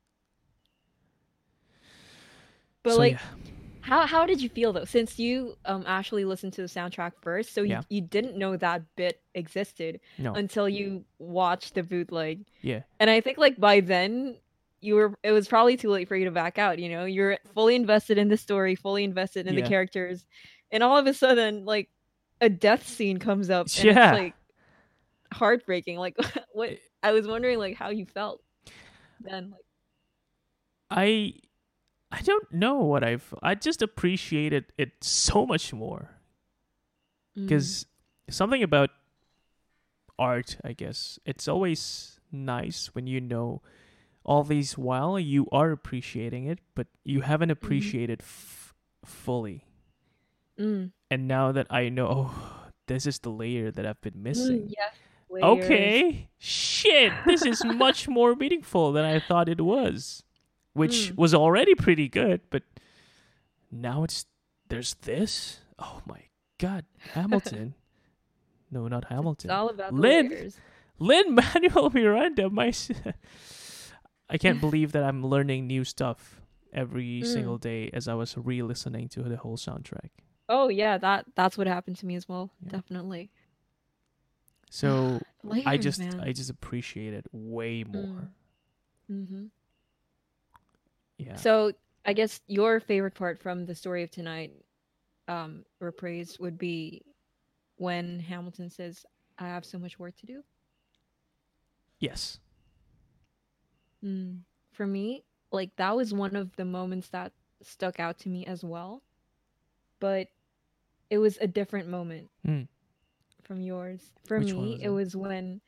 [SPEAKER 2] But
[SPEAKER 1] So
[SPEAKER 2] like,
[SPEAKER 1] yeah,
[SPEAKER 2] how did you feel though? Since you actually listened to the soundtrack first, so
[SPEAKER 1] yeah,
[SPEAKER 2] you didn't know that bit existed
[SPEAKER 1] no,
[SPEAKER 2] until you watched the bootleg.
[SPEAKER 1] yeah,
[SPEAKER 2] And I think like by then it was probably too late for you to back out, you know? You're fully invested in the story, fully invested in the
[SPEAKER 1] yeah,
[SPEAKER 2] characters. And all of a sudden like a death scene comes up and it's
[SPEAKER 1] yeah.
[SPEAKER 2] like heartbreaking. Like what I was wondering like how you felt then like
[SPEAKER 1] I I don't know what I just appreciated it so much more
[SPEAKER 2] mm,
[SPEAKER 1] because something about art, I guess, it's always nice when you know all these while you are appreciating it, but you haven't
[SPEAKER 2] mm-hmm,
[SPEAKER 1] appreciated fully.
[SPEAKER 2] mm,
[SPEAKER 1] And now that I know, oh, this is the layer that I've been missing.
[SPEAKER 2] yes, layers.
[SPEAKER 1] Okay, shit, this is much more meaningful than I thought it was, which
[SPEAKER 2] Mm.
[SPEAKER 1] was already pretty good, but now there's this. Oh my god, Hamilton. No, not
[SPEAKER 2] It's
[SPEAKER 1] Hamilton.
[SPEAKER 2] all about the
[SPEAKER 1] Lynn,
[SPEAKER 2] layers.
[SPEAKER 1] Lynn Manuel Miranda. I can't believe that I'm learning new stuff every
[SPEAKER 2] Mm.
[SPEAKER 1] single day as I was re-listening to the whole soundtrack.
[SPEAKER 2] Oh yeah, that's what happened to me as well.
[SPEAKER 1] Yeah.
[SPEAKER 2] Definitely.
[SPEAKER 1] So
[SPEAKER 2] Layers,
[SPEAKER 1] I
[SPEAKER 2] man.
[SPEAKER 1] just appreciate it way more.
[SPEAKER 2] Mm. Mm-hmm.
[SPEAKER 1] Yeah.
[SPEAKER 2] So I guess your favorite part from the story of tonight, reprise would be when Hamilton says, "I have so much work to do."
[SPEAKER 1] Yes.
[SPEAKER 2] Mm. For me, like that was one of the moments that stuck out to me as well, but it was a different moment
[SPEAKER 1] Hmm.
[SPEAKER 2] from yours. For
[SPEAKER 1] Which one
[SPEAKER 2] me,
[SPEAKER 1] was
[SPEAKER 2] it
[SPEAKER 1] it?
[SPEAKER 2] was when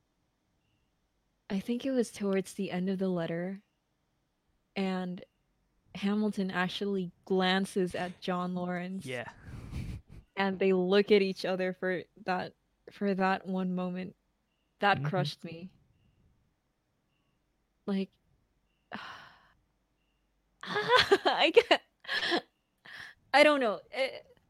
[SPEAKER 2] I think it was towards the end of the letter and Hamilton actually glances at John Lawrence
[SPEAKER 1] Yeah.
[SPEAKER 2] and they look at each other for that one moment. That
[SPEAKER 1] Mm-hmm.
[SPEAKER 2] crushed me. Like I can't, I don't know.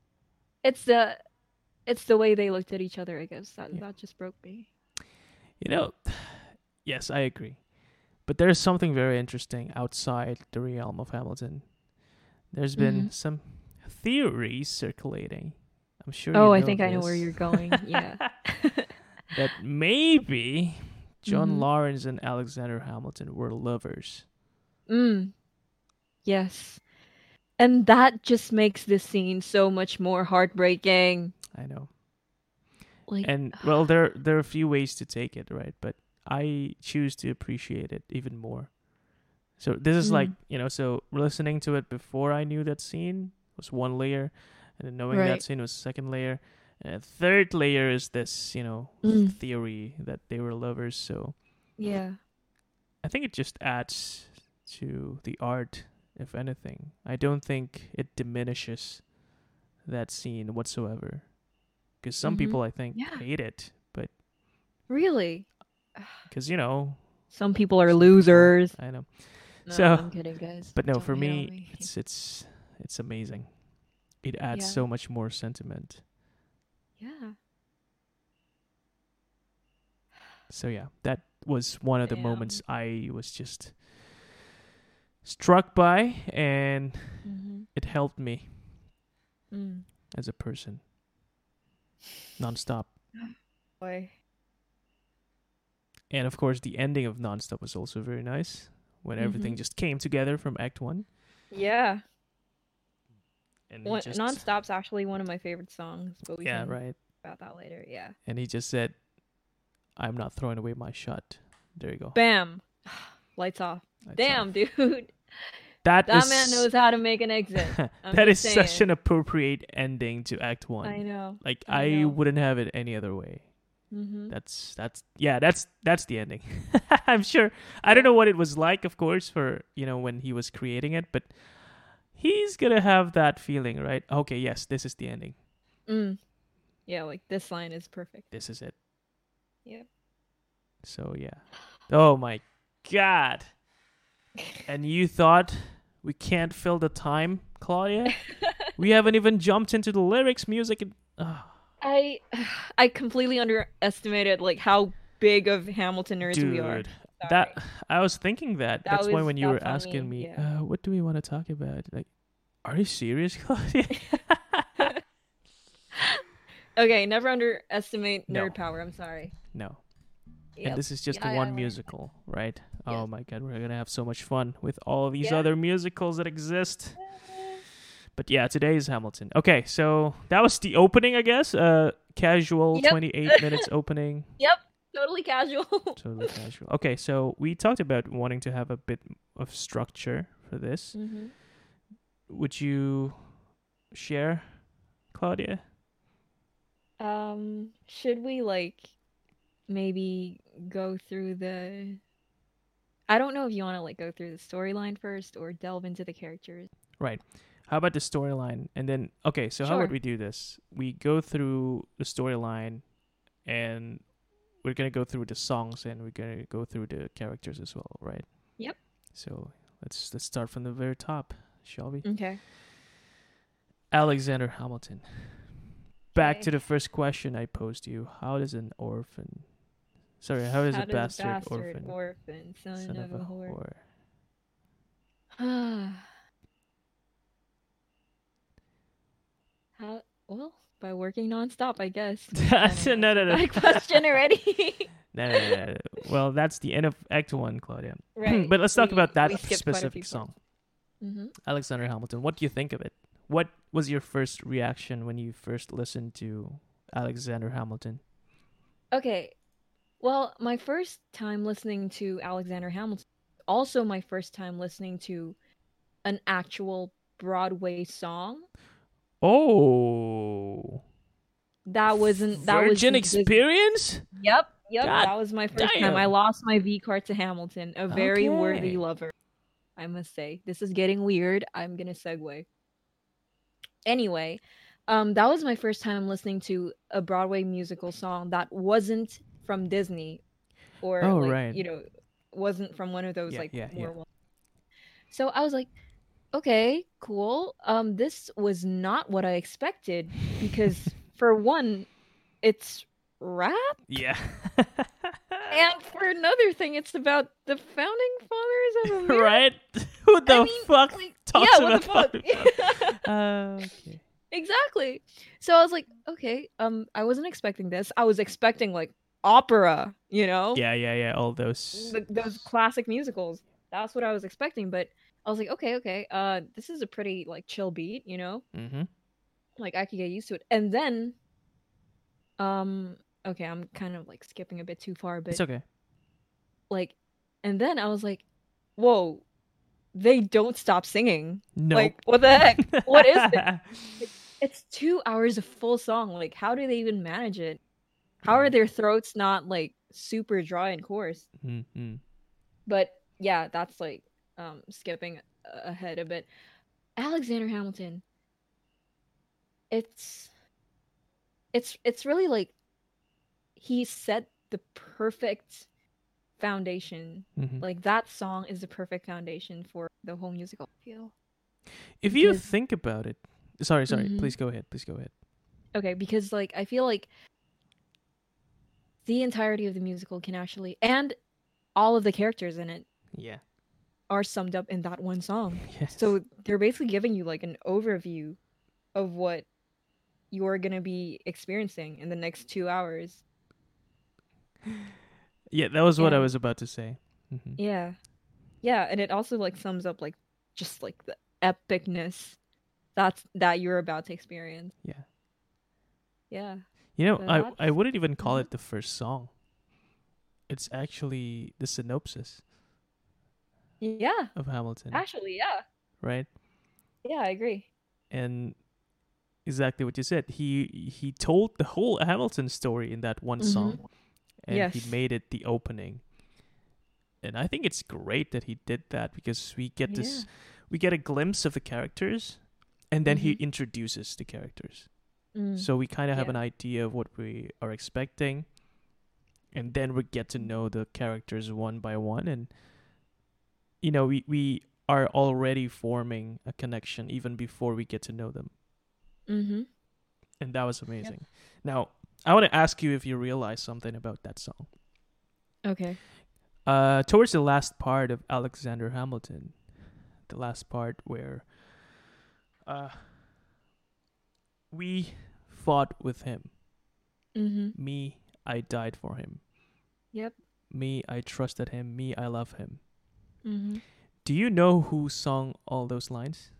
[SPEAKER 2] It's the way they looked at each other, I guess.
[SPEAKER 1] Yeah.
[SPEAKER 2] That just broke me.
[SPEAKER 1] You know, yes, I agree. But there's something very interesting outside the realm of Hamilton. There's been
[SPEAKER 2] Mhm.
[SPEAKER 1] some theories circulating. I'm sure you
[SPEAKER 2] Oh, I
[SPEAKER 1] know
[SPEAKER 2] think I know where
[SPEAKER 1] this.
[SPEAKER 2] you're going. Yeah.
[SPEAKER 1] That maybe John
[SPEAKER 2] Mhm.
[SPEAKER 1] Lawrence and Alexander Hamilton were lovers.
[SPEAKER 2] Mm. Yes. And that just makes this scene so much more heartbreaking.
[SPEAKER 1] I know.
[SPEAKER 2] Like,
[SPEAKER 1] And well, there are a few ways to take it, right? But I choose to appreciate it even more. So this is like,
[SPEAKER 2] mm,
[SPEAKER 1] so listening to it before I knew that scene was one layer, and then knowing that
[SPEAKER 2] right.
[SPEAKER 1] scene was second layer. And a third layer is this,
[SPEAKER 2] Mm.
[SPEAKER 1] theory that they were lovers. So
[SPEAKER 2] Yeah.
[SPEAKER 1] I think it just adds to the art, if anything. I don't think it diminishes that scene whatsoever. Because some
[SPEAKER 2] Mhm.
[SPEAKER 1] people, I think,
[SPEAKER 2] Yeah.
[SPEAKER 1] hate it, but
[SPEAKER 2] Really?
[SPEAKER 1] because,
[SPEAKER 2] Some people are
[SPEAKER 1] some people,
[SPEAKER 2] losers.
[SPEAKER 1] I know.
[SPEAKER 2] No,
[SPEAKER 1] So,
[SPEAKER 2] I'm kidding, guys.
[SPEAKER 1] but no,
[SPEAKER 2] Don't
[SPEAKER 1] for
[SPEAKER 2] hate on
[SPEAKER 1] me,
[SPEAKER 2] me.
[SPEAKER 1] it's amazing. It adds
[SPEAKER 2] Yeah.
[SPEAKER 1] so much more sentiment.
[SPEAKER 2] Yeah.
[SPEAKER 1] So yeah, that was one of the moments
[SPEAKER 2] Damn.
[SPEAKER 1] I was just struck by, and
[SPEAKER 2] Mhm.
[SPEAKER 1] it helped me
[SPEAKER 2] Mm.
[SPEAKER 1] as a person nonstop.
[SPEAKER 2] Boy.
[SPEAKER 1] And of course, the ending of Nonstop was also very nice when everything
[SPEAKER 2] Mhm.
[SPEAKER 1] just came together from Act One,
[SPEAKER 2] Yeah.
[SPEAKER 1] and he just,
[SPEAKER 2] Non-stop's actually one of my favorite songs, but we
[SPEAKER 1] yeah,
[SPEAKER 2] can
[SPEAKER 1] right,
[SPEAKER 2] about that later. Yeah.
[SPEAKER 1] and he just said, "I'm not throwing away my shot." There you go.
[SPEAKER 2] Bam. Lights off.
[SPEAKER 1] Lights off.
[SPEAKER 2] Damn, dude.
[SPEAKER 1] That
[SPEAKER 2] That man
[SPEAKER 1] is
[SPEAKER 2] knows how to make an exit. I'm
[SPEAKER 1] that is
[SPEAKER 2] just
[SPEAKER 1] such an
[SPEAKER 2] saying.
[SPEAKER 1] appropriate ending to Act
[SPEAKER 2] I
[SPEAKER 1] One.
[SPEAKER 2] know.
[SPEAKER 1] Like
[SPEAKER 2] I
[SPEAKER 1] I
[SPEAKER 2] know.
[SPEAKER 1] wouldn't have it any other way.
[SPEAKER 2] Mhm.
[SPEAKER 1] That's the ending. I'm sure. I don't
[SPEAKER 2] Yeah.
[SPEAKER 1] know what it was like, of course, for when he was creating it, but he's gonna have that feeling, right? Okay, yes, this is the ending.
[SPEAKER 2] Mm. Yeah, like this line is perfect.
[SPEAKER 1] This is it.
[SPEAKER 2] Yep.
[SPEAKER 1] So yeah. Oh my god. And you thought we can't fill the time, Claudia? We haven't even jumped into the lyrics, music, and
[SPEAKER 2] I I completely underestimated like how big of Hamilton nerds we are.
[SPEAKER 1] dude. That
[SPEAKER 2] Sorry.
[SPEAKER 1] I was thinking that. That's why when you were
[SPEAKER 2] That's on
[SPEAKER 1] asking
[SPEAKER 2] me.
[SPEAKER 1] me,
[SPEAKER 2] Yeah.
[SPEAKER 1] what do we want to talk about? Like, are you serious, Claudia?
[SPEAKER 2] Okay, never underestimate
[SPEAKER 1] No,
[SPEAKER 2] nerd power. I'm sorry.
[SPEAKER 1] no. And
[SPEAKER 2] Yep.
[SPEAKER 1] this is just
[SPEAKER 2] Yeah, I
[SPEAKER 1] one
[SPEAKER 2] learned that.
[SPEAKER 1] musical, right? Oh
[SPEAKER 2] Yes.
[SPEAKER 1] my god, we're gonna have so much fun with all these
[SPEAKER 2] Yeah.
[SPEAKER 1] other musicals that exist. But yeah, today is Hamilton. Okay, so that was the opening, I guess. Casual
[SPEAKER 2] Yep.
[SPEAKER 1] 28 minutes opening.
[SPEAKER 2] Yep. Totally casual.
[SPEAKER 1] Totally casual. Okay, so we talked about wanting to have a bit of structure for this.
[SPEAKER 2] Mhm.
[SPEAKER 1] Would you share, Claudia?
[SPEAKER 2] Should we like maybe go through the I don't know if you want to like go through the storyline first or delve into the characters.
[SPEAKER 1] Right. How about the storyline? And then, okay, so how would
[SPEAKER 2] Sure.
[SPEAKER 1] we do this? We go through the storyline, and we're going to go through the songs, and we're going to go through the characters as well, right?
[SPEAKER 2] Yep.
[SPEAKER 1] So let's start from the very top, shall we?
[SPEAKER 2] Okay.
[SPEAKER 1] Alexander Hamilton. Back to
[SPEAKER 2] Okay.
[SPEAKER 1] the first question I posed to you. How does a
[SPEAKER 2] How does a
[SPEAKER 1] bastard
[SPEAKER 2] bastard
[SPEAKER 1] orphan,
[SPEAKER 2] orphan, son
[SPEAKER 1] son
[SPEAKER 2] of
[SPEAKER 1] of
[SPEAKER 2] a
[SPEAKER 1] a
[SPEAKER 2] whore?
[SPEAKER 1] whore?
[SPEAKER 2] How well, by working nonstop, I guess. We kind of
[SPEAKER 1] no, no,
[SPEAKER 2] answered
[SPEAKER 1] no.
[SPEAKER 2] that question already.
[SPEAKER 1] No. Well, that's the end of Act One, Claudia.
[SPEAKER 2] Right.
[SPEAKER 1] But let's talk about
[SPEAKER 2] We
[SPEAKER 1] that
[SPEAKER 2] skipped quite a few
[SPEAKER 1] specific
[SPEAKER 2] parts.
[SPEAKER 1] song,
[SPEAKER 2] Mm-hmm.
[SPEAKER 1] Alexander Hamilton. What do you think of it? What was your first reaction when you first listened to Alexander Hamilton?
[SPEAKER 2] Okay. Well, my first time listening to Alexander Hamilton, also my first time listening to an actual Broadway song.
[SPEAKER 1] Oh,
[SPEAKER 2] That was
[SPEAKER 1] Virgin Experience?
[SPEAKER 2] Yep,
[SPEAKER 1] God
[SPEAKER 2] that was my first time. I
[SPEAKER 1] damn.
[SPEAKER 2] lost my V card to Hamilton, a very worthy
[SPEAKER 1] Okay.
[SPEAKER 2] lover, I must say. This is getting weird. I'm gonna segue. Anyway, that was my first time listening to a Broadway musical song that wasn't from Disney or
[SPEAKER 1] Oh
[SPEAKER 2] like,
[SPEAKER 1] right.
[SPEAKER 2] wasn't from one of those
[SPEAKER 1] Yeah,
[SPEAKER 2] like
[SPEAKER 1] yeah, yeah.
[SPEAKER 2] more well. So I was like, okay, cool. This was not what I expected because for one, it's rap,
[SPEAKER 1] Yeah.
[SPEAKER 2] and for another thing, it's about the founding fathers of America.
[SPEAKER 1] Right? Who
[SPEAKER 2] I
[SPEAKER 1] the
[SPEAKER 2] mean,
[SPEAKER 1] fuck
[SPEAKER 2] like,
[SPEAKER 1] talks
[SPEAKER 2] yeah, what the
[SPEAKER 1] about
[SPEAKER 2] fuck?
[SPEAKER 1] founding fathers? Okay.
[SPEAKER 2] Exactly. So I was like, okay, I wasn't expecting this. I was expecting like opera, you know,
[SPEAKER 1] Yeah, yeah, yeah. All those.
[SPEAKER 2] those classic musicals. That's what I was expecting, but I was like, okay, okay, this is a pretty like chill beat, you know,
[SPEAKER 1] Mm-hmm.
[SPEAKER 2] like I could get used to it. And then, um, okay, I'm kind of like skipping a bit too far,
[SPEAKER 1] It's
[SPEAKER 2] but
[SPEAKER 1] okay.
[SPEAKER 2] like, and then I was like, whoa, they don't stop singing.
[SPEAKER 1] Nope.
[SPEAKER 2] Like, what the heck? What is this? Like, it's 2 hours of full song. Like, how do they even manage it? How are
[SPEAKER 1] Right.
[SPEAKER 2] their throats not like super dry and coarse?
[SPEAKER 1] Mm-hmm.
[SPEAKER 2] But yeah, that's like skipping ahead a bit. Alexander Hamilton, it's it's really like he set the perfect foundation.
[SPEAKER 1] Mm-hmm.
[SPEAKER 2] Like that song is the perfect foundation for the whole musical, I feel.
[SPEAKER 1] If you
[SPEAKER 2] Because
[SPEAKER 1] think about it, sorry.
[SPEAKER 2] mhm.
[SPEAKER 1] Please go ahead. Please go ahead.
[SPEAKER 2] Okay, because like I feel like the entirety of the musical can actually, and all of the characters in it
[SPEAKER 1] Yeah.
[SPEAKER 2] are summed up in that one song.
[SPEAKER 1] Yes.
[SPEAKER 2] So they're basically giving you like an overview of what you're gonna be experiencing in the next 2 hours.
[SPEAKER 1] Yeah, that was what I
[SPEAKER 2] And
[SPEAKER 1] was about to say. Mm-hmm.
[SPEAKER 2] yeah, yeah, and it also like sums up like just like the epicness that you're about to experience.
[SPEAKER 1] Yeah.
[SPEAKER 2] Yeah,
[SPEAKER 1] You know,
[SPEAKER 2] so
[SPEAKER 1] I
[SPEAKER 2] that's
[SPEAKER 1] wouldn't even call
[SPEAKER 2] mhm.
[SPEAKER 1] it the first song. It's actually the synopsis
[SPEAKER 2] Yeah,
[SPEAKER 1] of Hamilton,
[SPEAKER 2] actually, yeah,
[SPEAKER 1] right?
[SPEAKER 2] yeah, I agree.
[SPEAKER 1] And exactly what you said. He told the whole Hamilton story in that one
[SPEAKER 2] Mm-hmm.
[SPEAKER 1] song, and he
[SPEAKER 2] Yes.
[SPEAKER 1] made it the opening. And I think it's great that he did that because
[SPEAKER 2] Yeah.
[SPEAKER 1] we get a glimpse of the characters, and then he
[SPEAKER 2] Mm-hmm.
[SPEAKER 1] introduces the characters.
[SPEAKER 2] Mm.
[SPEAKER 1] So we kind of have
[SPEAKER 2] Yeah.
[SPEAKER 1] an idea of what we are expecting, and then we get to know the characters one by one, and we are already forming a connection even before we get to know them,
[SPEAKER 2] Mm-hmm.
[SPEAKER 1] and that was
[SPEAKER 2] Yep.
[SPEAKER 1] amazing. Now I want to ask you if you realize something about that song.
[SPEAKER 2] Okay.
[SPEAKER 1] Towards the last part of Alexander Hamilton, the last part where uh we fought with him.
[SPEAKER 2] Mm-hmm.
[SPEAKER 1] Me, I died for him.
[SPEAKER 2] Yep.
[SPEAKER 1] Me, I trusted him. Me, I love him.
[SPEAKER 2] Mm-hmm.
[SPEAKER 1] Do you know who sung all those lines?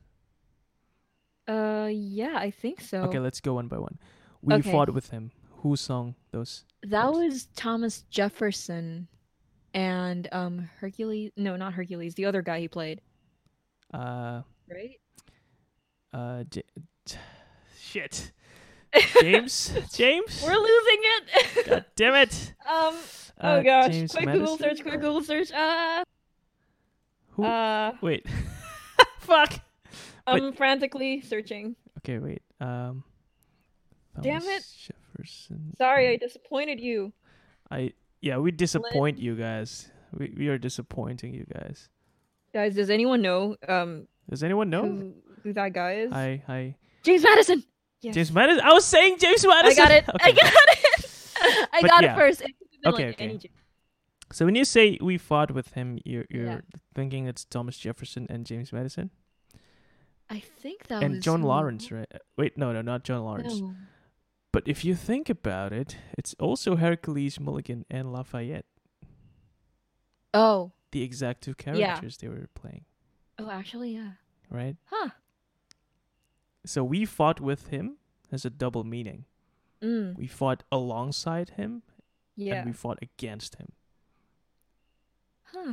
[SPEAKER 2] Yeah, I think
[SPEAKER 1] Okay,
[SPEAKER 2] so.
[SPEAKER 1] let's go one by one. We
[SPEAKER 2] Okay.
[SPEAKER 1] fought with him. Who sung those
[SPEAKER 2] That
[SPEAKER 1] parts?
[SPEAKER 2] was Thomas Jefferson and Hercules. No, not Hercules. The other guy he played.
[SPEAKER 1] Uh,
[SPEAKER 2] Right?
[SPEAKER 1] J- shit. James?
[SPEAKER 2] We're
[SPEAKER 1] James?
[SPEAKER 2] losing it.
[SPEAKER 1] God damn it.
[SPEAKER 2] um. Oh gosh.
[SPEAKER 1] James
[SPEAKER 2] Quick Google
[SPEAKER 1] Madison?
[SPEAKER 2] search. Quick Google search.
[SPEAKER 1] Who?
[SPEAKER 2] Uh.
[SPEAKER 1] Wait. Fuck. Wait.
[SPEAKER 2] I'm frantically searching.
[SPEAKER 1] Okay, wait.
[SPEAKER 2] Damn it.
[SPEAKER 1] Thomas Jefferson.
[SPEAKER 2] Sorry, I disappointed you.
[SPEAKER 1] Yeah, we disappoint
[SPEAKER 2] Lynn.
[SPEAKER 1] you guys. We are disappointing you guys.
[SPEAKER 2] Guys, does anyone know
[SPEAKER 1] Does anyone know?
[SPEAKER 2] who that guy is?
[SPEAKER 1] Hi.
[SPEAKER 2] James Madison. Yes.
[SPEAKER 1] James Madison. I was saying James
[SPEAKER 2] I
[SPEAKER 1] Madison.
[SPEAKER 2] got it.
[SPEAKER 1] Okay.
[SPEAKER 2] I got it. I
[SPEAKER 1] But
[SPEAKER 2] got
[SPEAKER 1] yeah.
[SPEAKER 2] it first. It could have been
[SPEAKER 1] Okay,
[SPEAKER 2] like
[SPEAKER 1] okay.
[SPEAKER 2] any James.
[SPEAKER 1] So when you say we fought with him, you're
[SPEAKER 2] Yeah.
[SPEAKER 1] thinking it's Thomas Jefferson and James Madison
[SPEAKER 2] I think that
[SPEAKER 1] and
[SPEAKER 2] was
[SPEAKER 1] John
[SPEAKER 2] who-
[SPEAKER 1] Lawrence, right? Wait, no, not John Lawrence.
[SPEAKER 2] No.
[SPEAKER 1] But if you think about it, it's also Hercules, Mulligan, and Lafayette,
[SPEAKER 2] Oh.
[SPEAKER 1] the exact two characters they were playing,
[SPEAKER 2] Oh, actually, yeah.
[SPEAKER 1] right?
[SPEAKER 2] Huh.
[SPEAKER 1] So we fought with him has a double meaning.
[SPEAKER 2] Mm.
[SPEAKER 1] We fought alongside him,
[SPEAKER 2] Yeah.
[SPEAKER 1] and we fought against him.
[SPEAKER 2] Huh.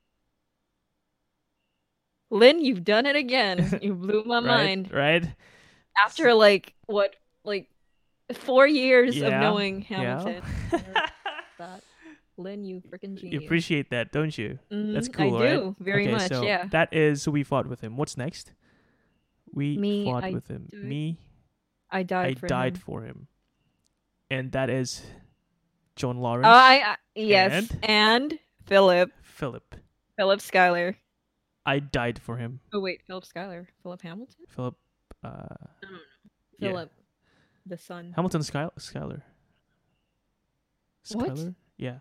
[SPEAKER 2] Lynn, you've done it again. You blew my mind.
[SPEAKER 1] Right?
[SPEAKER 2] After like what, like 4 years of
[SPEAKER 1] Yeah.
[SPEAKER 2] knowing
[SPEAKER 1] Yeah.
[SPEAKER 2] Hamilton. That. Lynn, you freaking
[SPEAKER 1] You
[SPEAKER 2] genius.
[SPEAKER 1] appreciate that, don't you? That's
[SPEAKER 2] Mhm,
[SPEAKER 1] cool,
[SPEAKER 2] I
[SPEAKER 1] right?
[SPEAKER 2] do very
[SPEAKER 1] Okay,
[SPEAKER 2] much.
[SPEAKER 1] so
[SPEAKER 2] Yeah.
[SPEAKER 1] that is we fought with him. What's next? We
[SPEAKER 2] Me,
[SPEAKER 1] fought
[SPEAKER 2] I
[SPEAKER 1] with him.
[SPEAKER 2] died-
[SPEAKER 1] Me,
[SPEAKER 2] I
[SPEAKER 1] I
[SPEAKER 2] died for
[SPEAKER 1] died
[SPEAKER 2] him.
[SPEAKER 1] for him. And that is John Lawrence
[SPEAKER 2] Oh, yes,
[SPEAKER 1] and
[SPEAKER 2] and Philip
[SPEAKER 1] Philip.
[SPEAKER 2] Schuyler.
[SPEAKER 1] I died for him.
[SPEAKER 2] Oh wait, Philip Schuyler, Philip Hamilton.
[SPEAKER 1] Philip.
[SPEAKER 2] No, no,
[SPEAKER 1] Yeah.
[SPEAKER 2] Philip, the son.
[SPEAKER 1] Hamilton Schuyler.
[SPEAKER 2] What?
[SPEAKER 1] Schuyler. Yeah.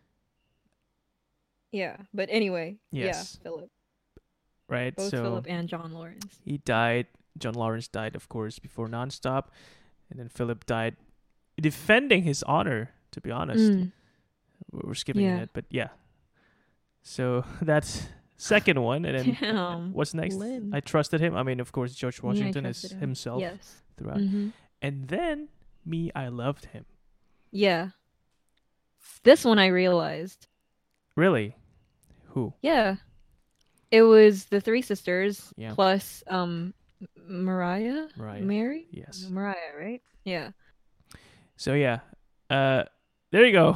[SPEAKER 2] Yeah, but anyway,
[SPEAKER 1] Yes.
[SPEAKER 2] yeah, Philip.
[SPEAKER 1] Right.
[SPEAKER 2] Both
[SPEAKER 1] So
[SPEAKER 2] Philip and John Lawrence.
[SPEAKER 1] he died. John Lawrence died, of course, before Nonstop, and then Philip died defending his honor. To be honest, we're skipping
[SPEAKER 2] Yeah.
[SPEAKER 1] it, but yeah. So that's second one, and then
[SPEAKER 2] Damn.
[SPEAKER 1] what's next?
[SPEAKER 2] Lynn.
[SPEAKER 1] I trusted him. I mean, of course, George
[SPEAKER 2] Yeah, I
[SPEAKER 1] Washington is
[SPEAKER 2] trusted him.
[SPEAKER 1] himself
[SPEAKER 2] Yes.
[SPEAKER 1] throughout, and then me, I loved him.
[SPEAKER 2] Yeah. This one I realized.
[SPEAKER 1] Really? Who?
[SPEAKER 2] Yeah. It was the three sisters
[SPEAKER 1] Yeah.
[SPEAKER 2] plus Mariah?
[SPEAKER 1] Mariah.
[SPEAKER 2] Mary?
[SPEAKER 1] Yes.
[SPEAKER 2] Mariah, right? Yeah.
[SPEAKER 1] So yeah, there you go.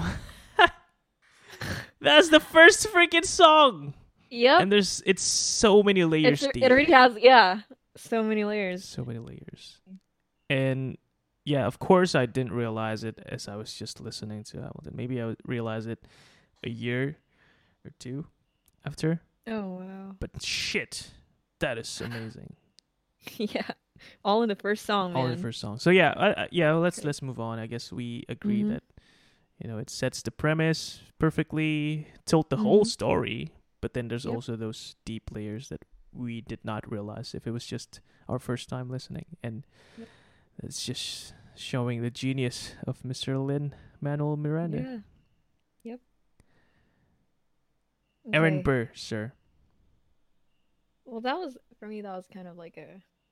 [SPEAKER 1] That's the first freaking song,
[SPEAKER 2] Yep.
[SPEAKER 1] and it's so many layers deep.
[SPEAKER 2] It already has, yeah, so many layers.
[SPEAKER 1] So many layers, and yeah, of course I didn't realize it as I was just listening to Hamilton. Maybe I would realize it a year or two after.
[SPEAKER 2] Oh wow.
[SPEAKER 1] But shit, that is amazing.
[SPEAKER 2] Yeah. All in the first song, man.
[SPEAKER 1] All in the first song. So yeah, let's move on. I guess we agree that it sets the premise perfectly, told the whole story, but then there's also those deep layers that we did not realize if it was just our first time listening, and it's just showing the genius of Mr. Lin-Manuel Miranda.
[SPEAKER 2] Yeah. Yep.
[SPEAKER 1] Aaron
[SPEAKER 2] Okay.
[SPEAKER 1] Burr, sir.
[SPEAKER 2] Well, that was for me. That was kind of like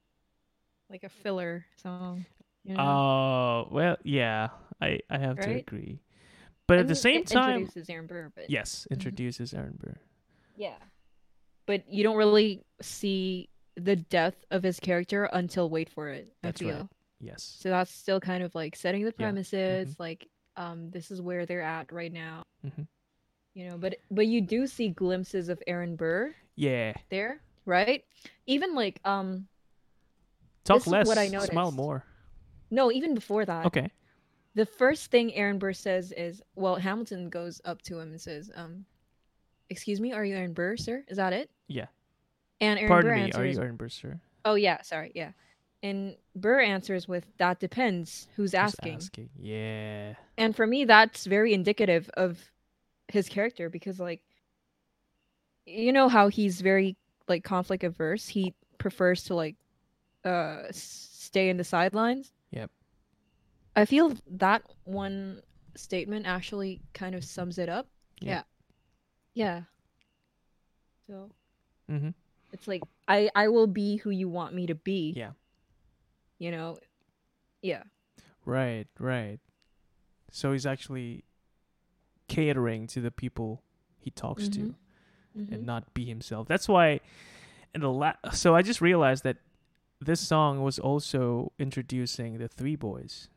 [SPEAKER 2] a filler song. You know?
[SPEAKER 1] Oh, well, yeah, I have to
[SPEAKER 2] Right?
[SPEAKER 1] agree. But
[SPEAKER 2] I
[SPEAKER 1] at the
[SPEAKER 2] mean,
[SPEAKER 1] same
[SPEAKER 2] it
[SPEAKER 1] time,
[SPEAKER 2] introduces Aaron Burr, but
[SPEAKER 1] yes, introduces Aaron Burr.
[SPEAKER 2] yeah, but you don't really see the depth of his character until Wait for It.
[SPEAKER 1] That's
[SPEAKER 2] I feel.
[SPEAKER 1] right. Yes.
[SPEAKER 2] So that's still kind of like setting the
[SPEAKER 1] Yeah.
[SPEAKER 2] premises, like this is where they're at right now.
[SPEAKER 1] Mm-hmm.
[SPEAKER 2] You know, but you do see glimpses of Aaron Burr
[SPEAKER 1] Yeah.
[SPEAKER 2] there, right? Even like
[SPEAKER 1] Talk
[SPEAKER 2] this is
[SPEAKER 1] less,
[SPEAKER 2] what I
[SPEAKER 1] smile
[SPEAKER 2] noticed.
[SPEAKER 1] more.
[SPEAKER 2] No, even before that.
[SPEAKER 1] Okay.
[SPEAKER 2] The first thing Aaron Burr says is, well, Hamilton goes up to him and says, excuse me, are you Aaron Burr, sir? Is that it?
[SPEAKER 1] Yeah.
[SPEAKER 2] And Aaron
[SPEAKER 1] Pardon
[SPEAKER 2] Burr
[SPEAKER 1] me,
[SPEAKER 2] answers,
[SPEAKER 1] are you Aaron Burr, sir?
[SPEAKER 2] oh yeah, sorry, yeah. And Burr answers with, that depends who's asking.
[SPEAKER 1] Yeah.
[SPEAKER 2] And for me, that's very indicative of his character because, like, you know how he's very, like, conflict averse. He prefers to, like, stay in the sidelines.
[SPEAKER 1] Yep.
[SPEAKER 2] I feel that one statement actually kind of sums it up.
[SPEAKER 1] Yeah.
[SPEAKER 2] Yeah. So
[SPEAKER 1] Mm-hmm.
[SPEAKER 2] it's like I will be who you want me to be.
[SPEAKER 1] Yeah.
[SPEAKER 2] You know? Yeah.
[SPEAKER 1] Right. So he's actually catering to the people he talks to and not be himself. That's why so I just realized that this song was also introducing the three boys.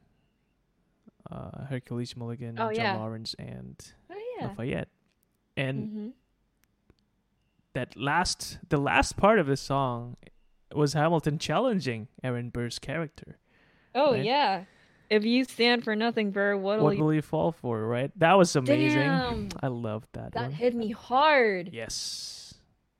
[SPEAKER 1] Hercules Mulligan, John Lawrence, and Lafayette. And the last part of the song was Hamilton challenging Aaron Burr's character.
[SPEAKER 2] Oh,
[SPEAKER 1] right?
[SPEAKER 2] yeah. If you stand for nothing, Burr, what
[SPEAKER 1] will you fall for, right? That was amazing.
[SPEAKER 2] Damn.
[SPEAKER 1] I loved that one.
[SPEAKER 2] That hit me hard.
[SPEAKER 1] Yes.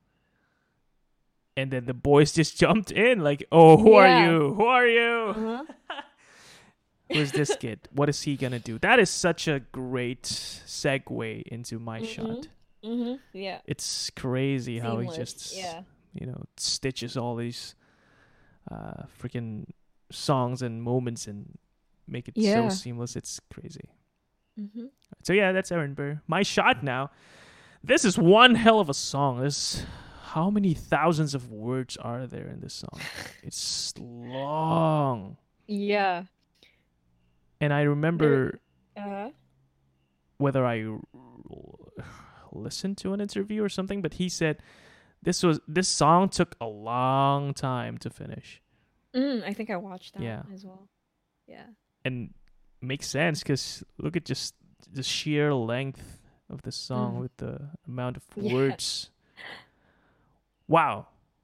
[SPEAKER 1] And then the boys just jumped in like, oh, who are you? Who are you?
[SPEAKER 2] Uh-huh.
[SPEAKER 1] Who's this kid? What is he going to do? That is such a great segue into my shot.
[SPEAKER 2] Yeah.
[SPEAKER 1] It's crazy how he
[SPEAKER 2] Seamless,
[SPEAKER 1] just, stitches all these freaking songs and moments and make it so seamless. It's crazy. So yeah, that's Aaron Burr. My shot now. This is one hell of a song. How many thousands of words are there in this song? It's long.
[SPEAKER 2] Yeah.
[SPEAKER 1] And I remember whether I listened to an interview or something, but he said this song took a long time to finish.
[SPEAKER 2] I think I watched that as well. Yeah.
[SPEAKER 1] And makes sense because look at just the sheer length of the song with the amount of words. Wow.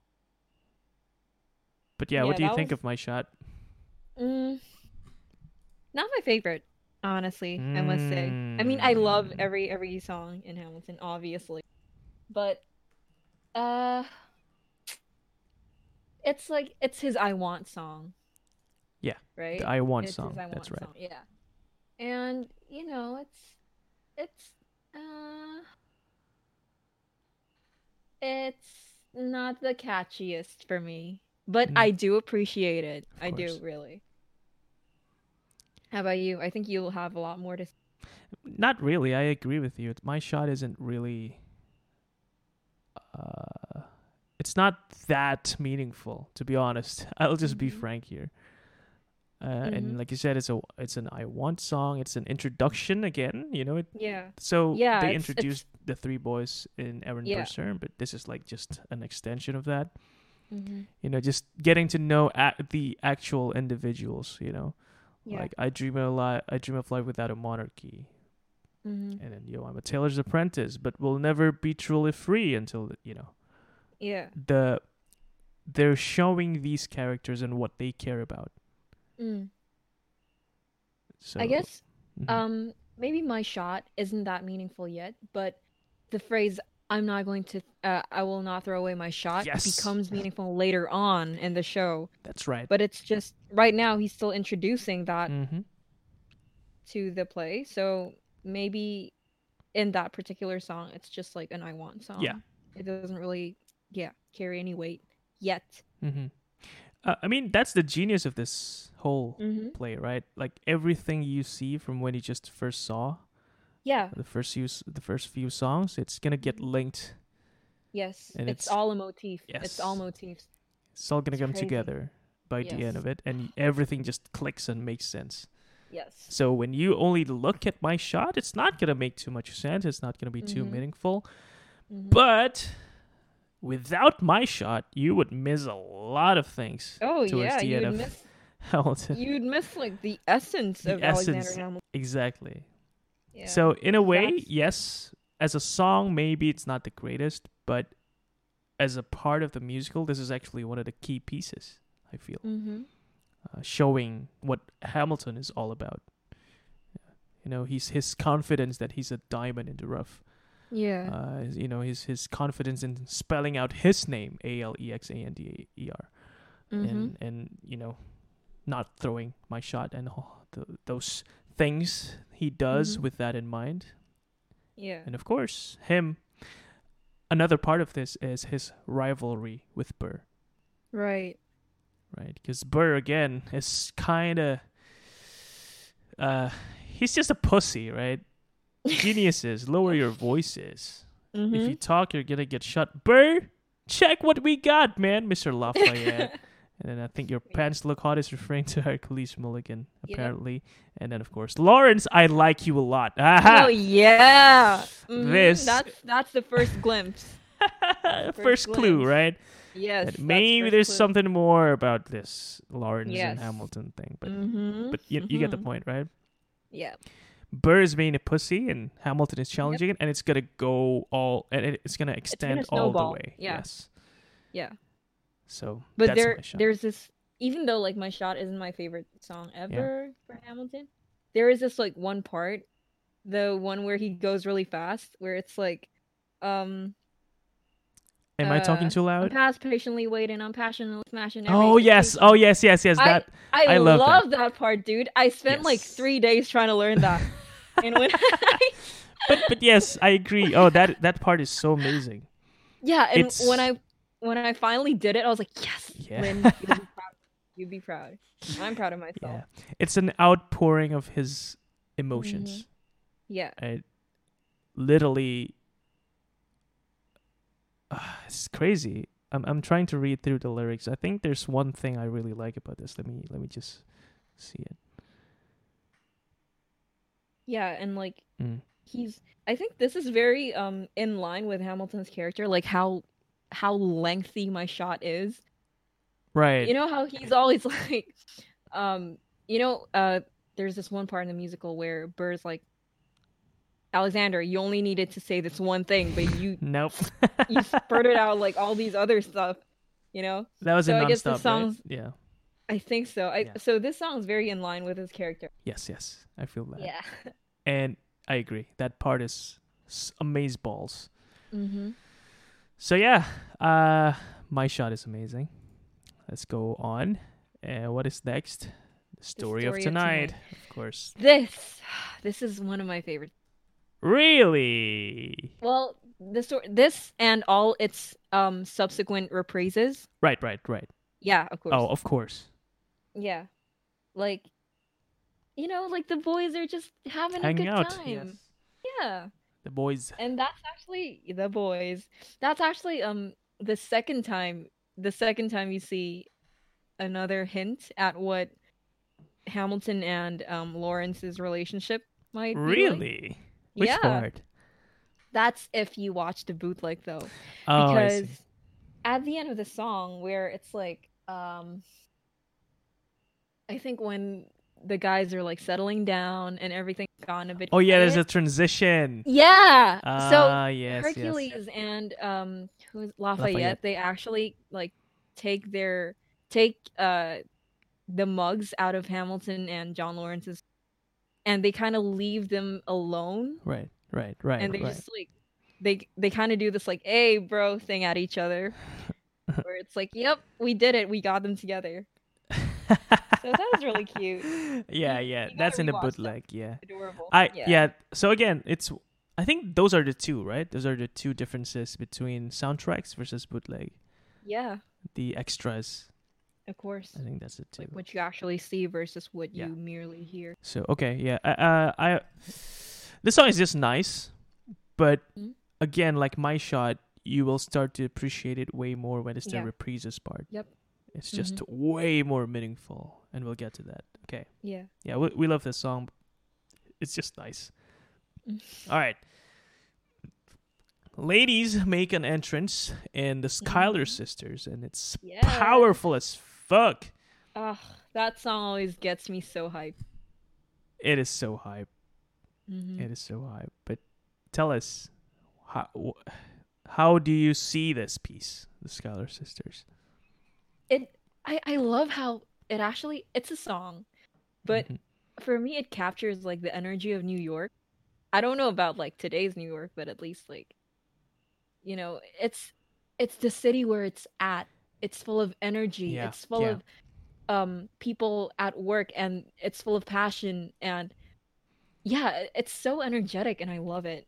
[SPEAKER 1] But what do you think of my shot?
[SPEAKER 2] Not my favorite, honestly, I must say. I mean, I love every song in Hamilton, obviously. But it's like it's his I Want song,
[SPEAKER 1] Yeah, the
[SPEAKER 2] right?
[SPEAKER 1] I Want
[SPEAKER 2] It's his
[SPEAKER 1] song.
[SPEAKER 2] I
[SPEAKER 1] That's
[SPEAKER 2] Want
[SPEAKER 1] right.
[SPEAKER 2] song. Yeah. And it's uh it's not the catchiest for me, but
[SPEAKER 1] Mm,
[SPEAKER 2] I do appreciate it.
[SPEAKER 1] of
[SPEAKER 2] I do
[SPEAKER 1] course.
[SPEAKER 2] really. How about you? I think you'll have a lot more to.
[SPEAKER 1] Not really. I agree with you. My shot isn't really. Uh, it's not that meaningful, to be honest. I'll just be
[SPEAKER 2] Mhm.
[SPEAKER 1] frank here. And
[SPEAKER 2] Mhm.
[SPEAKER 1] like you said, it's an I Want song. It's an introduction again.
[SPEAKER 2] Yeah.
[SPEAKER 1] So
[SPEAKER 2] Yeah,
[SPEAKER 1] they
[SPEAKER 2] it's
[SPEAKER 1] introduced the three boys in Aaron
[SPEAKER 2] yeah.
[SPEAKER 1] Burser, but this is like just an extension of that.
[SPEAKER 2] Mhm.
[SPEAKER 1] Just getting to know the actual individuals.
[SPEAKER 2] Yeah.
[SPEAKER 1] Like I dream of life without a monarchy,
[SPEAKER 2] Mhm.
[SPEAKER 1] and then I'm a tailor's apprentice, but will never be truly free until
[SPEAKER 2] Yeah.
[SPEAKER 1] the they're showing these characters and what they care about.
[SPEAKER 2] Mm. I
[SPEAKER 1] So,
[SPEAKER 2] guess
[SPEAKER 1] mhm.
[SPEAKER 2] maybe my shot isn't that meaningful yet, but the phrase I will not throw away my shot
[SPEAKER 1] Yes,
[SPEAKER 2] becomes meaningful later on in the show.
[SPEAKER 1] that's right.
[SPEAKER 2] But it's just right now he's still introducing that
[SPEAKER 1] Mm-hmm.
[SPEAKER 2] to the play. So maybe in that particular song it's just like an I Want
[SPEAKER 1] Yeah.
[SPEAKER 2] song. It doesn't really carry any weight yet.
[SPEAKER 1] Mm-hmm. I mean, that's the genius of this whole
[SPEAKER 2] Mhm.
[SPEAKER 1] play, right? Like everything you see from when you just first saw
[SPEAKER 2] Yeah.
[SPEAKER 1] the first few songs, it's gonna get
[SPEAKER 2] Mhm.
[SPEAKER 1] linked,
[SPEAKER 2] Yes,
[SPEAKER 1] and
[SPEAKER 2] it's all a motif. It's all
[SPEAKER 1] yes,
[SPEAKER 2] motifs.
[SPEAKER 1] it's all gonna
[SPEAKER 2] It's
[SPEAKER 1] come
[SPEAKER 2] crazy.
[SPEAKER 1] together by the end
[SPEAKER 2] Yes.
[SPEAKER 1] of it, and everything just clicks and makes sense.
[SPEAKER 2] Yes.
[SPEAKER 1] So when you only look at my shot, it's not gonna make too much sense. It's not gonna be too
[SPEAKER 2] Mhm.
[SPEAKER 1] meaningful.
[SPEAKER 2] Mhm.
[SPEAKER 1] But without my shot, you would miss a lot of things
[SPEAKER 2] Oh
[SPEAKER 1] towards
[SPEAKER 2] yeah,
[SPEAKER 1] the end of Hamilton.
[SPEAKER 2] you'd miss like the essence
[SPEAKER 1] The
[SPEAKER 2] of Alexander
[SPEAKER 1] essence,
[SPEAKER 2] Hamilton.
[SPEAKER 1] exactly.
[SPEAKER 2] Yeah,
[SPEAKER 1] So in a
[SPEAKER 2] because
[SPEAKER 1] way,
[SPEAKER 2] that's
[SPEAKER 1] yes, as a song, maybe it's not the greatest, but as a part of the musical, this is actually one of the key pieces. I feel
[SPEAKER 2] Mhm.
[SPEAKER 1] showing what Hamilton is all about. He's his confidence that he's a diamond in the rough.
[SPEAKER 2] Yeah.
[SPEAKER 1] His confidence in spelling out his name, Alexander,
[SPEAKER 2] Mhm.
[SPEAKER 1] and not throwing my shot, and those things he does
[SPEAKER 2] Mhm.
[SPEAKER 1] with that in mind.
[SPEAKER 2] Yeah.
[SPEAKER 1] And of course, him. Another part of this is his rivalry with Burr,
[SPEAKER 2] Right.
[SPEAKER 1] right? Because Burr again is kind of uh, he's just a pussy, right? Geniuses, lower your voices. If you
[SPEAKER 2] Mhm.
[SPEAKER 1] talk, you're gonna get shot. Burr, check what we got, man, Mr. Lafayette. And then I think your
[SPEAKER 2] Yeah.
[SPEAKER 1] pants look hot is referring to Hercules Mulligan,
[SPEAKER 2] Yep.
[SPEAKER 1] apparently. And then of course, Lawrence, I like you a lot.
[SPEAKER 2] Oh
[SPEAKER 1] Aha!
[SPEAKER 2] yeah. Mhm.
[SPEAKER 1] This
[SPEAKER 2] That's the first glimpse. That's the first
[SPEAKER 1] first clue,
[SPEAKER 2] glimpse.
[SPEAKER 1] right?
[SPEAKER 2] Yes,
[SPEAKER 1] That
[SPEAKER 2] that's
[SPEAKER 1] maybe
[SPEAKER 2] first
[SPEAKER 1] there's
[SPEAKER 2] clue.
[SPEAKER 1] something more about this Lawrence and
[SPEAKER 2] Yes.
[SPEAKER 1] Hamilton thing, but
[SPEAKER 2] Mhm.
[SPEAKER 1] you get the
[SPEAKER 2] Mhm.
[SPEAKER 1] point, right?
[SPEAKER 2] Yeah.
[SPEAKER 1] Burr is being a pussy, and Hamilton is
[SPEAKER 2] Yep.
[SPEAKER 1] challenging it, and it's gonna go all, and it's gonna
[SPEAKER 2] It's gonna
[SPEAKER 1] extend all the
[SPEAKER 2] snowball.
[SPEAKER 1] way.
[SPEAKER 2] Yeah.
[SPEAKER 1] Yes.
[SPEAKER 2] Yeah.
[SPEAKER 1] So
[SPEAKER 2] But
[SPEAKER 1] that's my shot.
[SPEAKER 2] there's this even though like my shot isn't my favorite song
[SPEAKER 1] Yeah.
[SPEAKER 2] ever for Hamilton, there is this like one part, the one where he goes really fast, where it's like um
[SPEAKER 1] Am I talking too
[SPEAKER 2] I'm
[SPEAKER 1] loud?
[SPEAKER 2] past patiently waiting, I'm passionately smashing every
[SPEAKER 1] Oh yes. Oh
[SPEAKER 2] expectation.
[SPEAKER 1] yes. Yes. Yes.
[SPEAKER 2] I
[SPEAKER 1] That
[SPEAKER 2] I
[SPEAKER 1] I love that.
[SPEAKER 2] love that part, dude. I spent like
[SPEAKER 1] Yes.
[SPEAKER 2] 3 days trying to learn that. And when
[SPEAKER 1] But yes, I agree. Oh, that part is so amazing.
[SPEAKER 2] yeah, and
[SPEAKER 1] It's
[SPEAKER 2] when I finally did it, I was like, yes,
[SPEAKER 1] yeah.
[SPEAKER 2] Lynn, you'll be proud. You'd be proud. I'm proud of myself.
[SPEAKER 1] Yeah. It's an outpouring of his
[SPEAKER 2] Hmm.
[SPEAKER 1] emotions.
[SPEAKER 2] Yeah.
[SPEAKER 1] I literally it's crazy. I'm trying to read through the lyrics. I think there's one thing I really like about this. Let me just see it.
[SPEAKER 2] Yeah, and like
[SPEAKER 1] Mm.
[SPEAKER 2] he's I think this is very in line with Hamilton's character, like how lengthy my shot is.
[SPEAKER 1] Right.
[SPEAKER 2] You know how he's always like um you know there's this one part in the musical where Burr's like, Alexander, you only needed to say this one thing, but
[SPEAKER 1] Nope.
[SPEAKER 2] you spurted out like all these other stuff, you know?
[SPEAKER 1] That was
[SPEAKER 2] So
[SPEAKER 1] in
[SPEAKER 2] I guess this
[SPEAKER 1] nonstop, right?
[SPEAKER 2] song's
[SPEAKER 1] Yeah.
[SPEAKER 2] I think so.
[SPEAKER 1] Yeah.
[SPEAKER 2] So this song's very in line with his character.
[SPEAKER 1] Yes, yes. I feel that.
[SPEAKER 2] Yeah.
[SPEAKER 1] And I agree. That part is amaze balls.
[SPEAKER 2] Mm-hmm.
[SPEAKER 1] So yeah, my shot is amazing. let's go on. What is next? The story of
[SPEAKER 2] Story of
[SPEAKER 1] tonight,
[SPEAKER 2] Tonight.
[SPEAKER 1] of course.
[SPEAKER 2] This is one of my favorites.
[SPEAKER 1] Really?
[SPEAKER 2] Well, this and all its subsequent reprises.
[SPEAKER 1] Right.
[SPEAKER 2] Yeah, of course.
[SPEAKER 1] Oh, of course.
[SPEAKER 2] Yeah. Like, like the boys are just having a
[SPEAKER 1] Hanging
[SPEAKER 2] good
[SPEAKER 1] out. Yes.
[SPEAKER 2] time. Yeah.
[SPEAKER 1] The boys.
[SPEAKER 2] And that's actually the boys. That's actually the second time you see another hint at what Hamilton and Lawrence's relationship might be like.
[SPEAKER 1] Really? Which
[SPEAKER 2] Yeah.
[SPEAKER 1] part?
[SPEAKER 2] That's if you watch the bootleg though.
[SPEAKER 1] Oh, I
[SPEAKER 2] Because
[SPEAKER 1] see.
[SPEAKER 2] at the end of the song where it's like I think when the guys are like settling down and everything's gone a bit
[SPEAKER 1] Oh yeah, there's a
[SPEAKER 2] quiet.
[SPEAKER 1] transition.
[SPEAKER 2] Yeah. So
[SPEAKER 1] Ah, yes.
[SPEAKER 2] Hercules and who's
[SPEAKER 1] Lafayette.
[SPEAKER 2] Lafayette, they actually like take the mugs out of Hamilton and John Lawrence's, and they kind of leave them alone,
[SPEAKER 1] Right.
[SPEAKER 2] and they just like they kind of do this like, "Hey, bro" thing at each other, where it's like, "Yep, we did it. We got them together." So that was really cute.
[SPEAKER 1] Yeah.
[SPEAKER 2] You gotta
[SPEAKER 1] That's in the
[SPEAKER 2] rewatch that.
[SPEAKER 1] bootleg. Yeah.
[SPEAKER 2] Adorable.
[SPEAKER 1] Yeah. So again, I think those are the two, right? Those are the two differences between soundtracks versus bootleg.
[SPEAKER 2] Yeah,
[SPEAKER 1] The extras.
[SPEAKER 2] of course.
[SPEAKER 1] I think that's it too.
[SPEAKER 2] Like what you actually see versus what
[SPEAKER 1] Yeah.
[SPEAKER 2] you merely hear.
[SPEAKER 1] So okay, yeah. I this song is just nice, but
[SPEAKER 2] Mhm.
[SPEAKER 1] again, like My Shot, you will start to appreciate it way more when it's the
[SPEAKER 2] Yeah.
[SPEAKER 1] reprises part.
[SPEAKER 2] Yep.
[SPEAKER 1] It's just way more meaningful, and we'll get to that. Okay.
[SPEAKER 2] Yeah.
[SPEAKER 1] Yeah, we love this song. It's just nice. All right. Ladies make an entrance in the Schuyler Sisters, and it's
[SPEAKER 2] Yes.
[SPEAKER 1] powerful as fuck.
[SPEAKER 2] Ugh, that song always gets me so hyped.
[SPEAKER 1] It is so hype.
[SPEAKER 2] Mhm.
[SPEAKER 1] It is so hype. But tell us, how do you see this piece, the Schuyler Sisters?
[SPEAKER 2] I love how it's a song, but
[SPEAKER 1] Mhm.
[SPEAKER 2] for me it captures like the energy of New York. I don't know about like today's New York, but at least like it's the city where it's at. It's full of energy.
[SPEAKER 1] Yeah,
[SPEAKER 2] It's full
[SPEAKER 1] yeah.
[SPEAKER 2] of people at work, and it's full of passion, and yeah, it's so energetic and I love it.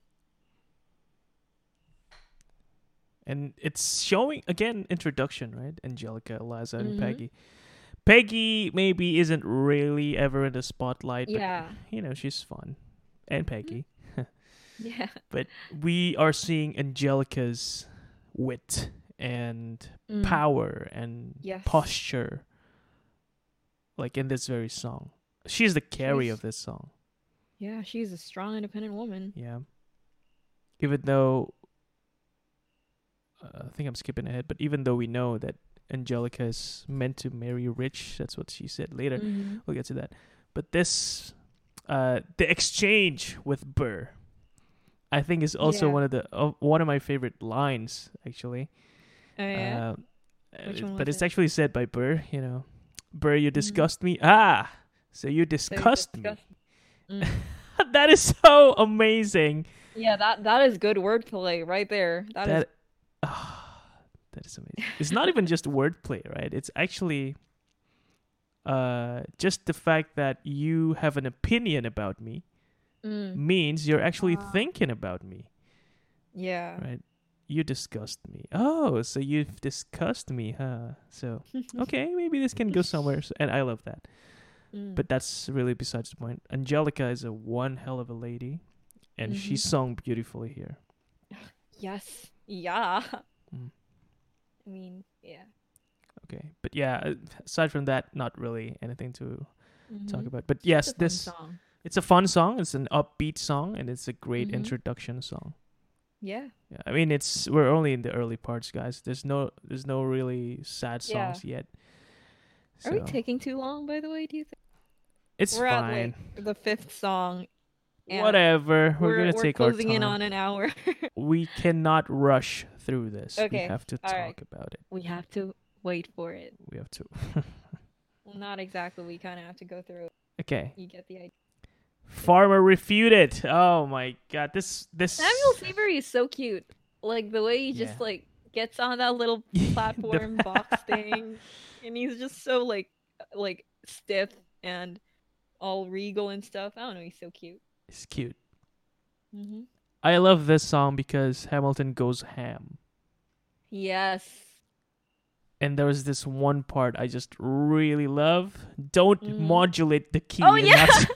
[SPEAKER 1] And it's showing again introduction, right? Angelica, Eliza, and
[SPEAKER 2] Mhm.
[SPEAKER 1] Peggy. Peggy maybe isn't really ever in the spotlight, but
[SPEAKER 2] Yeah.
[SPEAKER 1] she's fun, and Peggy.
[SPEAKER 2] Yeah.
[SPEAKER 1] But we are seeing Angelica's wit and
[SPEAKER 2] Mm.
[SPEAKER 1] power and
[SPEAKER 2] Yes.
[SPEAKER 1] posture, like in this very song. She's the carry
[SPEAKER 2] She's-
[SPEAKER 1] of this song.
[SPEAKER 2] Yeah, she's a strong, independent woman.
[SPEAKER 1] Yeah. Even though I think I'm skipping ahead, but even though we know that Angelica is meant to marry Rich, that's what she said later.
[SPEAKER 2] Mhm.
[SPEAKER 1] We'll get to that. But this, the exchange with Burr, I think is also
[SPEAKER 2] Yeah.
[SPEAKER 1] one of my favorite lines actually.
[SPEAKER 2] Oh yeah. Which one
[SPEAKER 1] But
[SPEAKER 2] was
[SPEAKER 1] it's
[SPEAKER 2] it?
[SPEAKER 1] actually said by Burr. Burr, you
[SPEAKER 2] Mhm.
[SPEAKER 1] disgust me. Ah, so you
[SPEAKER 2] So
[SPEAKER 1] disgust me.
[SPEAKER 2] disgust- Mm.
[SPEAKER 1] That is so amazing.
[SPEAKER 2] Yeah, that is good wordplay right there. That is
[SPEAKER 1] That is amazing. It's not even just wordplay, right? It's actually just the fact that you have an opinion about me means you're actually thinking about me,
[SPEAKER 2] yeah.
[SPEAKER 1] right? You disgust me. Oh, so you've discussed me, huh? So, okay, maybe this can go somewhere. And I love that. But that's really besides the point. Angelica is a one hell of a lady, and she sung beautifully here.
[SPEAKER 2] Yes. Yeah.
[SPEAKER 1] Mm.
[SPEAKER 2] I mean, yeah.
[SPEAKER 1] Okay, but yeah, aside from that, not really anything to talk
[SPEAKER 2] Mhm.
[SPEAKER 1] about. But yes,
[SPEAKER 2] It's a fun song.
[SPEAKER 1] it's a fun song. It's an upbeat song, and it's a great
[SPEAKER 2] Mhm.
[SPEAKER 1] introduction song.
[SPEAKER 2] Yeah.
[SPEAKER 1] Yeah, I mean, we're only in the early parts, guys. There's no really sad
[SPEAKER 2] Yeah.
[SPEAKER 1] songs yet.
[SPEAKER 2] Are we
[SPEAKER 1] So,
[SPEAKER 2] taking too long, by the way, do you think?
[SPEAKER 1] it's
[SPEAKER 2] We're
[SPEAKER 1] fine.
[SPEAKER 2] at like the fifth song. and
[SPEAKER 1] Whatever. We're gonna take our
[SPEAKER 2] closing in
[SPEAKER 1] time.
[SPEAKER 2] on an hour.
[SPEAKER 1] We cannot rush through this. We
[SPEAKER 2] Okay,
[SPEAKER 1] have to
[SPEAKER 2] all
[SPEAKER 1] talk
[SPEAKER 2] right.
[SPEAKER 1] about it.
[SPEAKER 2] We have to wait for it.
[SPEAKER 1] We have to.
[SPEAKER 2] Well, not exactly. We kind of have to go through it.
[SPEAKER 1] Okay.
[SPEAKER 2] You get the idea.
[SPEAKER 1] Farmer refuted. Oh my god. This
[SPEAKER 2] Samuel Seabury is so cute. Like the way he just
[SPEAKER 1] Yeah.
[SPEAKER 2] like gets on that little platform box thing, and he's just so like stiff and all regal and stuff. I don't know. He's so cute.
[SPEAKER 1] It's cute.
[SPEAKER 2] Hmm.
[SPEAKER 1] I love this song because Hamilton goes ham.
[SPEAKER 2] Yes.
[SPEAKER 1] And there was this one part I just really love. Don't
[SPEAKER 2] Mhm.
[SPEAKER 1] modulate the key.
[SPEAKER 2] Oh
[SPEAKER 1] and
[SPEAKER 2] yeah,
[SPEAKER 1] that's-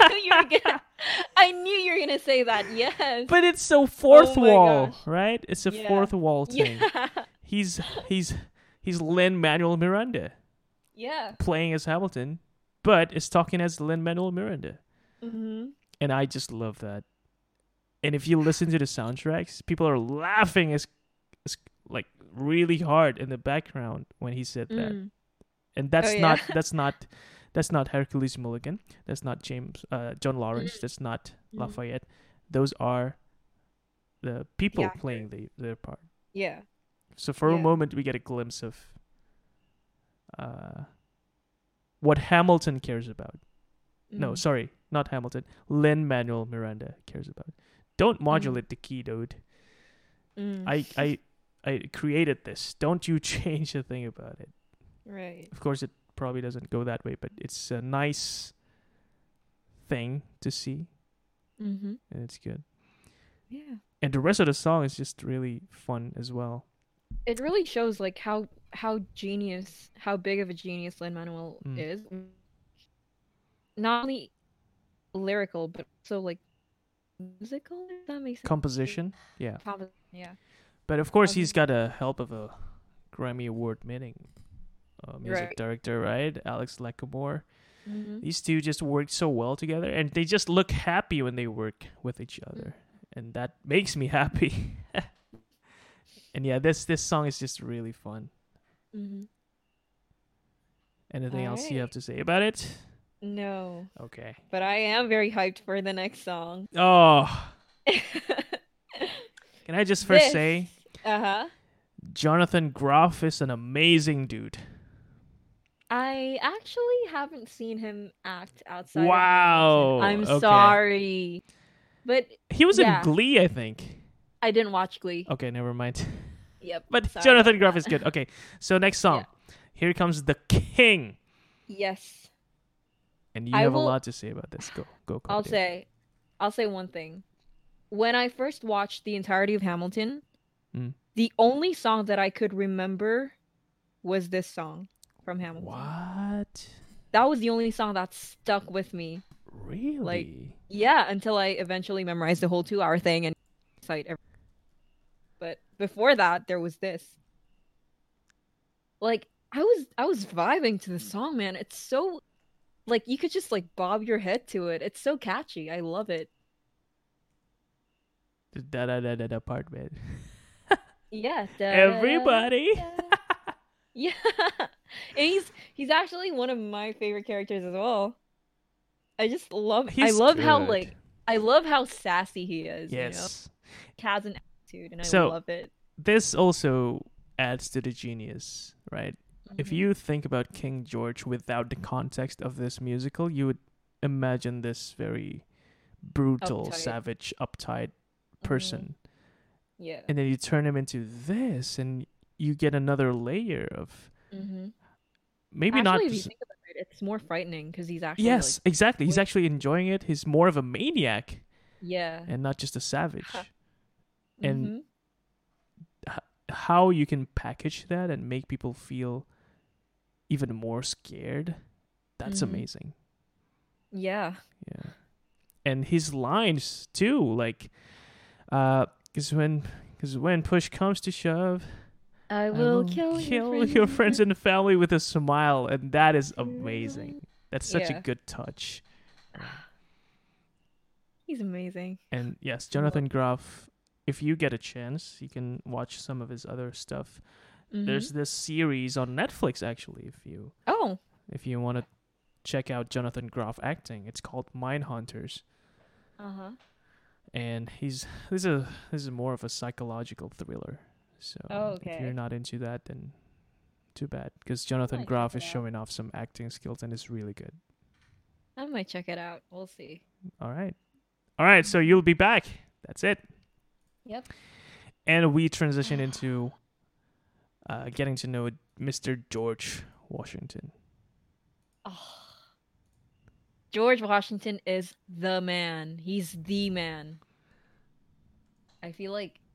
[SPEAKER 2] I knew you were gonna say that. Yes.
[SPEAKER 1] but it's so fourth
[SPEAKER 2] Oh my
[SPEAKER 1] wall,
[SPEAKER 2] gosh.
[SPEAKER 1] right? It's a
[SPEAKER 2] Yeah.
[SPEAKER 1] fourth wall thing.
[SPEAKER 2] Yeah.
[SPEAKER 1] He's Lin-Manuel Miranda
[SPEAKER 2] Yeah.
[SPEAKER 1] playing as Hamilton, but is talking as Lin-Manuel Miranda.
[SPEAKER 2] Hmm.
[SPEAKER 1] And I just love that. And if you listen to the soundtracks, people are laughing as like really hard in the background when he said that.
[SPEAKER 2] Mm.
[SPEAKER 1] And that's
[SPEAKER 2] Oh, yeah.
[SPEAKER 1] that's not Hercules Mulligan. That's not John Lawrence. That's not Lafayette. Those are the people
[SPEAKER 2] actors.
[SPEAKER 1] playing their part.
[SPEAKER 2] Yeah.
[SPEAKER 1] So for a
[SPEAKER 2] Yeah.
[SPEAKER 1] moment, we get a glimpse of what Hamilton cares about. No,
[SPEAKER 2] Mm.
[SPEAKER 1] sorry, not Hamilton. Lin-Manuel Miranda cares about. Don't modulate the key, dude.
[SPEAKER 2] Mm.
[SPEAKER 1] I created this. Don't you change a thing about it.
[SPEAKER 2] Right.
[SPEAKER 1] Of course, it probably doesn't go that way, but it's a nice thing to see,
[SPEAKER 2] Mm-hmm.
[SPEAKER 1] and it's good.
[SPEAKER 2] Yeah.
[SPEAKER 1] And the rest of the song is just really fun as well.
[SPEAKER 2] It really shows like how big of a genius Lin-Manuel
[SPEAKER 1] Mm.
[SPEAKER 2] is. Not only lyrical, but also like musical. If that makes sense.
[SPEAKER 1] Composition, yeah.
[SPEAKER 2] Yeah.
[SPEAKER 1] But of course,
[SPEAKER 2] Um,
[SPEAKER 1] he's got a help of a Grammy Award-winning music
[SPEAKER 2] Right.
[SPEAKER 1] director, right? Alex Lackamore.
[SPEAKER 2] Mm-hmm.
[SPEAKER 1] These two just work so well together, and they just look happy when they work with each other, and that makes me happy. And yeah, this song is just really fun.
[SPEAKER 2] Mm-hmm.
[SPEAKER 1] Anything else you
[SPEAKER 2] Alright.
[SPEAKER 1] have to say about it?
[SPEAKER 2] No,
[SPEAKER 1] Okay.
[SPEAKER 2] but I am very hyped for the next song.
[SPEAKER 1] Oh, can I just first say,
[SPEAKER 2] Uh-huh.
[SPEAKER 1] Jonathan Groff is an amazing dude.
[SPEAKER 2] I actually haven't seen him act outside
[SPEAKER 1] Wow,
[SPEAKER 2] of Hamilton. I'm
[SPEAKER 1] okay.
[SPEAKER 2] sorry. But
[SPEAKER 1] He was
[SPEAKER 2] Yeah.
[SPEAKER 1] in Glee, I think.
[SPEAKER 2] I didn't watch Glee.
[SPEAKER 1] Okay, never mind.
[SPEAKER 2] Yep.
[SPEAKER 1] But
[SPEAKER 2] sorry
[SPEAKER 1] Jonathan
[SPEAKER 2] about
[SPEAKER 1] Groff
[SPEAKER 2] that.
[SPEAKER 1] is good. Okay, so next song. Here comes the King.
[SPEAKER 2] Yes.
[SPEAKER 1] And you
[SPEAKER 2] I
[SPEAKER 1] have a
[SPEAKER 2] will-
[SPEAKER 1] lot to say about this. Go.
[SPEAKER 2] I'll
[SPEAKER 1] Claudia.
[SPEAKER 2] say one thing. When I first watched the entirety of Hamilton,
[SPEAKER 1] Mm.
[SPEAKER 2] the only song that I could remember was this song from Hamilton.
[SPEAKER 1] What?
[SPEAKER 2] That was the only song that stuck with me.
[SPEAKER 1] Really?
[SPEAKER 2] Yeah, until I eventually memorized the whole 2-hour thing and cite everything. But before that, there was this. Like I was vibing to the song, man. It's so like you could just like bob your head to it. It's so catchy. I love it.
[SPEAKER 1] The da part, man.
[SPEAKER 2] Yeah.
[SPEAKER 1] Everybody.
[SPEAKER 2] Yeah. And he's actually one of my favorite characters as well. I just love
[SPEAKER 1] He's
[SPEAKER 2] how
[SPEAKER 1] good.
[SPEAKER 2] I love how sassy he is, you know.
[SPEAKER 1] Yes.
[SPEAKER 2] He has an attitude and I
[SPEAKER 1] So-
[SPEAKER 2] love it.
[SPEAKER 1] This also adds to the genius, right? If
[SPEAKER 2] Mhm.
[SPEAKER 1] you think about King George without the context of this musical, you would imagine this very brutal,
[SPEAKER 2] Uptight.
[SPEAKER 1] savage, uptight
[SPEAKER 2] Mhm.
[SPEAKER 1] person.
[SPEAKER 2] Yeah.
[SPEAKER 1] And then you turn him into this, and you get another layer of
[SPEAKER 2] Mm-hmm.
[SPEAKER 1] maybe
[SPEAKER 2] Actually,
[SPEAKER 1] not.
[SPEAKER 2] if you think about it, it's more frightening because he's actually
[SPEAKER 1] Yes, exactly. He's
[SPEAKER 2] wait-
[SPEAKER 1] actually enjoying it. He's more of a maniac
[SPEAKER 2] yeah.
[SPEAKER 1] and not just a savage. and-
[SPEAKER 2] Mhm.
[SPEAKER 1] How you can package that and make people feel even more scared, that's
[SPEAKER 2] Mhm.
[SPEAKER 1] amazing.
[SPEAKER 2] Yeah.
[SPEAKER 1] Yeah. And his lines too, like because when push comes to shove,
[SPEAKER 2] I
[SPEAKER 1] I
[SPEAKER 2] will kill
[SPEAKER 1] your friends and family with a smile, and that is amazing. That's such a
[SPEAKER 2] Yeah.
[SPEAKER 1] good touch.
[SPEAKER 2] He's amazing.
[SPEAKER 1] And yes, Jonathan Groff, if you get a chance, you can watch some of his other stuff.
[SPEAKER 2] Mhm.
[SPEAKER 1] There's this series on Netflix actually,
[SPEAKER 2] Oh.
[SPEAKER 1] if you want to check out Jonathan Groff acting. It's called Mindhunters.
[SPEAKER 2] Uh-huh.
[SPEAKER 1] And this is more of a psychological thriller. So
[SPEAKER 2] Oh,
[SPEAKER 1] if
[SPEAKER 2] okay.
[SPEAKER 1] you're not into that, then too bad, because Jonathan
[SPEAKER 2] Might
[SPEAKER 1] Groff
[SPEAKER 2] check
[SPEAKER 1] is
[SPEAKER 2] it out.
[SPEAKER 1] showing off some acting skills and is really good.
[SPEAKER 2] I might check it out. We'll see.
[SPEAKER 1] All right, so you'll be back. That's it.
[SPEAKER 2] Yep.
[SPEAKER 1] And we transition into getting to know Mr. George Washington.
[SPEAKER 2] Oh, George Washington is the man. He's the man. I feel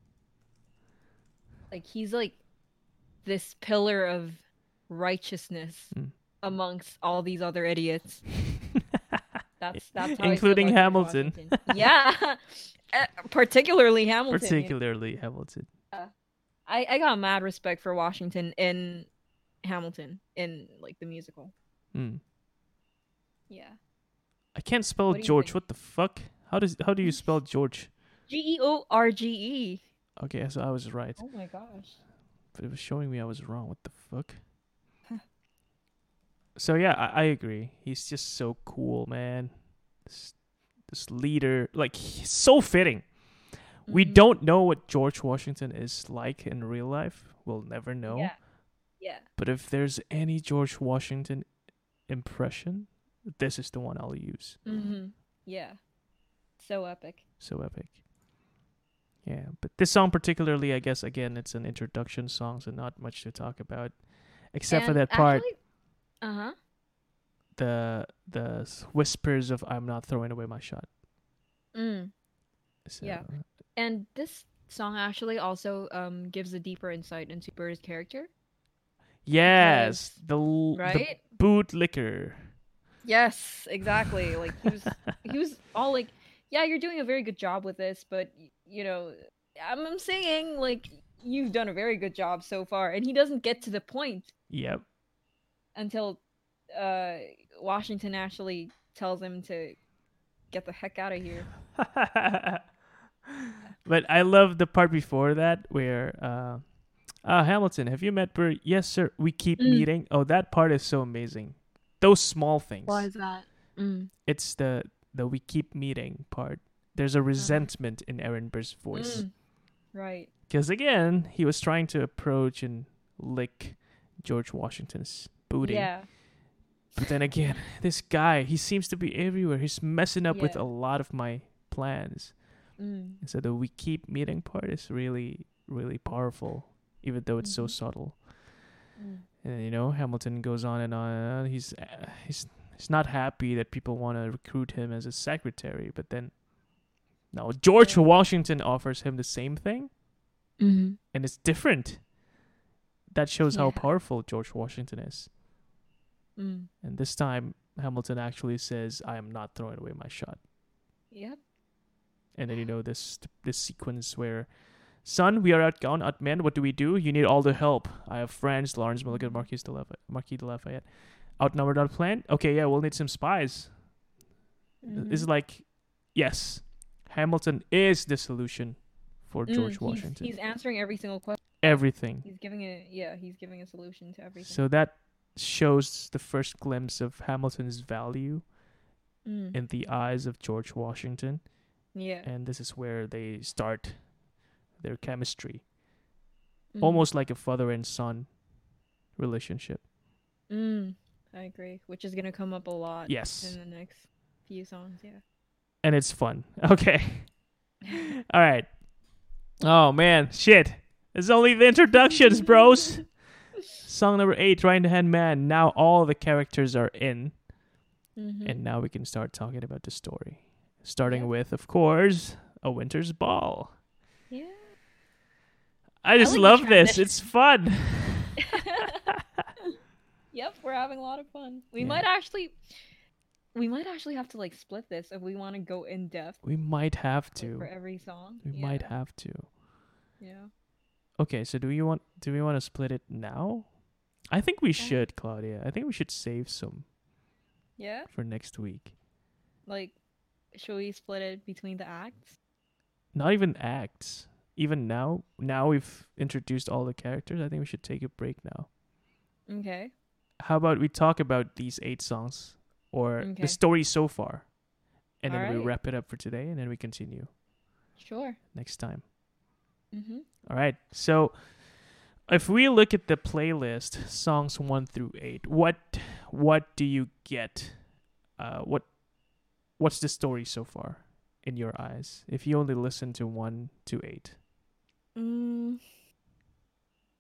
[SPEAKER 2] like he's like this pillar of righteousness
[SPEAKER 1] Mm.
[SPEAKER 2] amongst all these other idiots. That's how I feel
[SPEAKER 1] Including
[SPEAKER 2] about George
[SPEAKER 1] Hamilton.
[SPEAKER 2] Washington. Yeah. Particularly Hamilton.
[SPEAKER 1] Particularly Hamilton.
[SPEAKER 2] I got mad respect for Washington in Hamilton in like the musical.
[SPEAKER 1] Mm.
[SPEAKER 2] Yeah.
[SPEAKER 1] I can't spell
[SPEAKER 2] What do you
[SPEAKER 1] George.
[SPEAKER 2] think?
[SPEAKER 1] What the fuck? How do you spell George?
[SPEAKER 2] George.
[SPEAKER 1] Okay, so I was right,
[SPEAKER 2] Oh my gosh.
[SPEAKER 1] but it was showing me I was wrong. What the fuck? So yeah, I agree. He's just so cool, man. This leader, like, he's so fitting. We
[SPEAKER 2] Mhm.
[SPEAKER 1] don't know what George Washington is like in real life. We'll never know.
[SPEAKER 2] Yeah. Yeah.
[SPEAKER 1] But if there's any George Washington impression, this is the one I'll use.
[SPEAKER 2] Mhm. Yeah. So epic.
[SPEAKER 1] So epic. Yeah, but this song particularly, I guess, again, it's an introduction song, so not much to talk about, except for
[SPEAKER 2] And
[SPEAKER 1] that part,
[SPEAKER 2] actually, uh-huh.
[SPEAKER 1] the whispers of "I'm not throwing away my shot."
[SPEAKER 2] Mm.
[SPEAKER 1] So,
[SPEAKER 2] Yeah. And this song actually also gives a deeper insight into Bird's character.
[SPEAKER 1] yes,
[SPEAKER 2] Because-
[SPEAKER 1] the
[SPEAKER 2] Right?
[SPEAKER 1] bootlicker.
[SPEAKER 2] Yes, exactly. Like he was all like, "Yeah, you're doing a very good job with this, but you know, I'm saying like you've done a very good job so far." And he doesn't get to the point
[SPEAKER 1] Yep.
[SPEAKER 2] until Washington actually tells him to get the heck out of here.
[SPEAKER 1] But I love the part before that where Hamilton, have you met Bert? Yes, sir. We keep
[SPEAKER 2] Mm.
[SPEAKER 1] meeting. Oh, that part is so amazing. Those small things.
[SPEAKER 2] that? Mm.
[SPEAKER 1] It's the we keep meeting part. There's a resentment in Aaron Burr's voice.
[SPEAKER 2] Mm. Right.
[SPEAKER 1] Because again, he was trying to approach and lick George Washington's booty.
[SPEAKER 2] Yeah.
[SPEAKER 1] But then again, this guy, he seems to be everywhere. He's messing up with
[SPEAKER 2] Yeah.
[SPEAKER 1] a lot of my plans.
[SPEAKER 2] Mm.
[SPEAKER 1] And so the we keep meeting part is really, really powerful, even though it's so
[SPEAKER 2] Mhm.
[SPEAKER 1] subtle.
[SPEAKER 2] Mm.
[SPEAKER 1] And you know, Hamilton goes on and on and on. He's not happy that people want to recruit him as a secretary, but then no, George
[SPEAKER 2] Yeah.
[SPEAKER 1] Washington offers him the same thing,
[SPEAKER 2] Mm-hmm.
[SPEAKER 1] and it's different. That shows how
[SPEAKER 2] Yeah.
[SPEAKER 1] powerful George Washington is.
[SPEAKER 2] Mm.
[SPEAKER 1] And this time, Hamilton actually says, "I am not throwing away my shot."
[SPEAKER 2] Yep.
[SPEAKER 1] And then you know this sequence where, "Son, we are outgunned. What do we do? You need all the help. I have friends, Lawrence Milligan, Marquis de Lafayette. Outnumbered, outplanned. Okay, yeah, we'll need some spies."
[SPEAKER 2] Mhm.
[SPEAKER 1] It's like, yes, Hamilton is the solution for George Washington.
[SPEAKER 2] He's answering every single question.
[SPEAKER 1] Everything.
[SPEAKER 2] He's giving a solution to everything.
[SPEAKER 1] So that shows the first glimpse of Hamilton's value
[SPEAKER 2] Mm.
[SPEAKER 1] in the eyes of George Washington.
[SPEAKER 2] Yeah.
[SPEAKER 1] And this is where they start their chemistry.
[SPEAKER 2] Mm.
[SPEAKER 1] Almost like a father and son relationship.
[SPEAKER 2] Mm. I agree. Which is gonna come up a lot
[SPEAKER 1] Yes.
[SPEAKER 2] in the next few songs. Yeah.
[SPEAKER 1] And it's fun. Okay. All right. Oh, man. Shit. It's only the introductions, bros. Song number 8, Right Hand Man. Now all the characters are in.
[SPEAKER 2] Mm-hmm.
[SPEAKER 1] And now we can start talking about the story. Starting
[SPEAKER 2] Yeah.
[SPEAKER 1] with, of course, A Winter's Ball.
[SPEAKER 2] Yeah.
[SPEAKER 1] I just
[SPEAKER 2] like the
[SPEAKER 1] love this.
[SPEAKER 2] transition.
[SPEAKER 1] It's fun.
[SPEAKER 2] Yep, we're having a lot of fun. We
[SPEAKER 1] Yeah.
[SPEAKER 2] might actually have to like split this if we want to go in depth
[SPEAKER 1] We might have
[SPEAKER 2] like,
[SPEAKER 1] to.
[SPEAKER 2] for every song.
[SPEAKER 1] We
[SPEAKER 2] Yeah.
[SPEAKER 1] might have to.
[SPEAKER 2] Yeah.
[SPEAKER 1] Okay, so do we want to split it now? I think we should, Claudia. I think we should save some
[SPEAKER 2] Yeah.
[SPEAKER 1] for next week.
[SPEAKER 2] Like, should we split it between the acts?
[SPEAKER 1] Not even acts. Even now we've introduced all the characters. I think we should take a break now.
[SPEAKER 2] Okay.
[SPEAKER 1] How about we talk about these 8 songs or
[SPEAKER 2] Okay.
[SPEAKER 1] the story so far, and then we
[SPEAKER 2] Alright.
[SPEAKER 1] wrap it up for today, and then we continue
[SPEAKER 2] Sure.
[SPEAKER 1] next time.
[SPEAKER 2] Mm-hmm.
[SPEAKER 1] All right. So if we look at the playlist, songs 1 through 8, what do you get? What's the story so far in your eyes? If you only listen to 1 to 8.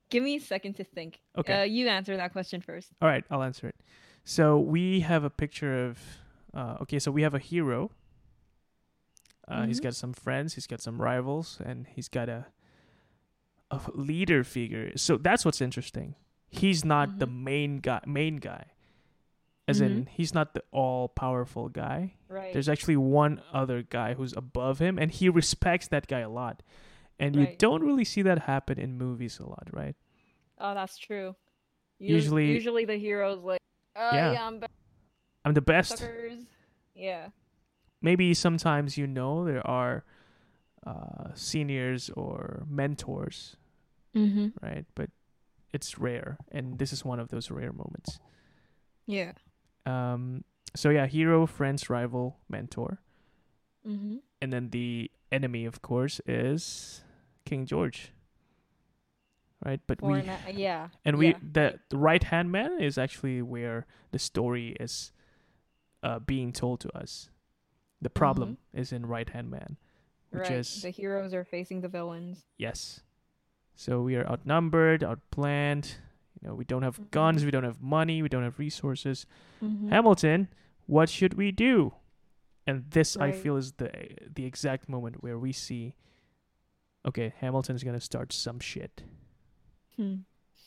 [SPEAKER 2] Give me a second to think.
[SPEAKER 1] Okay.
[SPEAKER 2] You answer that question first.
[SPEAKER 1] All right, I'll answer it. So we have a picture of. Okay, so we have a hero. He's
[SPEAKER 2] Mhm.
[SPEAKER 1] got some friends. He's got some rivals, and he's got a leader figure. So that's what's interesting. He's not the
[SPEAKER 2] Mhm.
[SPEAKER 1] main guy. As
[SPEAKER 2] Mhm.
[SPEAKER 1] in, he's not the all-powerful guy.
[SPEAKER 2] Right.
[SPEAKER 1] There's actually one other guy who's above him, and he respects that guy a lot. And you
[SPEAKER 2] Right.
[SPEAKER 1] don't really see that happen in movies a lot, right?
[SPEAKER 2] Oh, that's true.
[SPEAKER 1] Usually,
[SPEAKER 2] Usually the hero's like,
[SPEAKER 1] yeah,
[SPEAKER 2] yeah, I'm back,
[SPEAKER 1] I'm the best.
[SPEAKER 2] suckers. Yeah.
[SPEAKER 1] Maybe sometimes there are seniors or mentors,
[SPEAKER 2] Mhm.
[SPEAKER 1] right? But it's rare, and this is one of those rare moments.
[SPEAKER 2] Yeah.
[SPEAKER 1] So yeah, hero, friends, rival, mentor,
[SPEAKER 2] Mhm.
[SPEAKER 1] and then the enemy, of course, is King George, right? But
[SPEAKER 2] For yeah.
[SPEAKER 1] we
[SPEAKER 2] Yeah.
[SPEAKER 1] the right hand man is actually where the story is being told to us. The
[SPEAKER 2] Mhm.
[SPEAKER 1] problem is in right hand man, which
[SPEAKER 2] Right.
[SPEAKER 1] is
[SPEAKER 2] The heroes are facing the villains.
[SPEAKER 1] yes. So we are outnumbered, outplanned. We don't have
[SPEAKER 2] Mhm.
[SPEAKER 1] guns, we don't have money, we don't have resources.
[SPEAKER 2] Mhm.
[SPEAKER 1] Hamilton, what should we do? And this, I
[SPEAKER 2] Right.
[SPEAKER 1] feel, is the exact moment where we see, okay, Hamilton's gonna start some shit,
[SPEAKER 2] Hmm.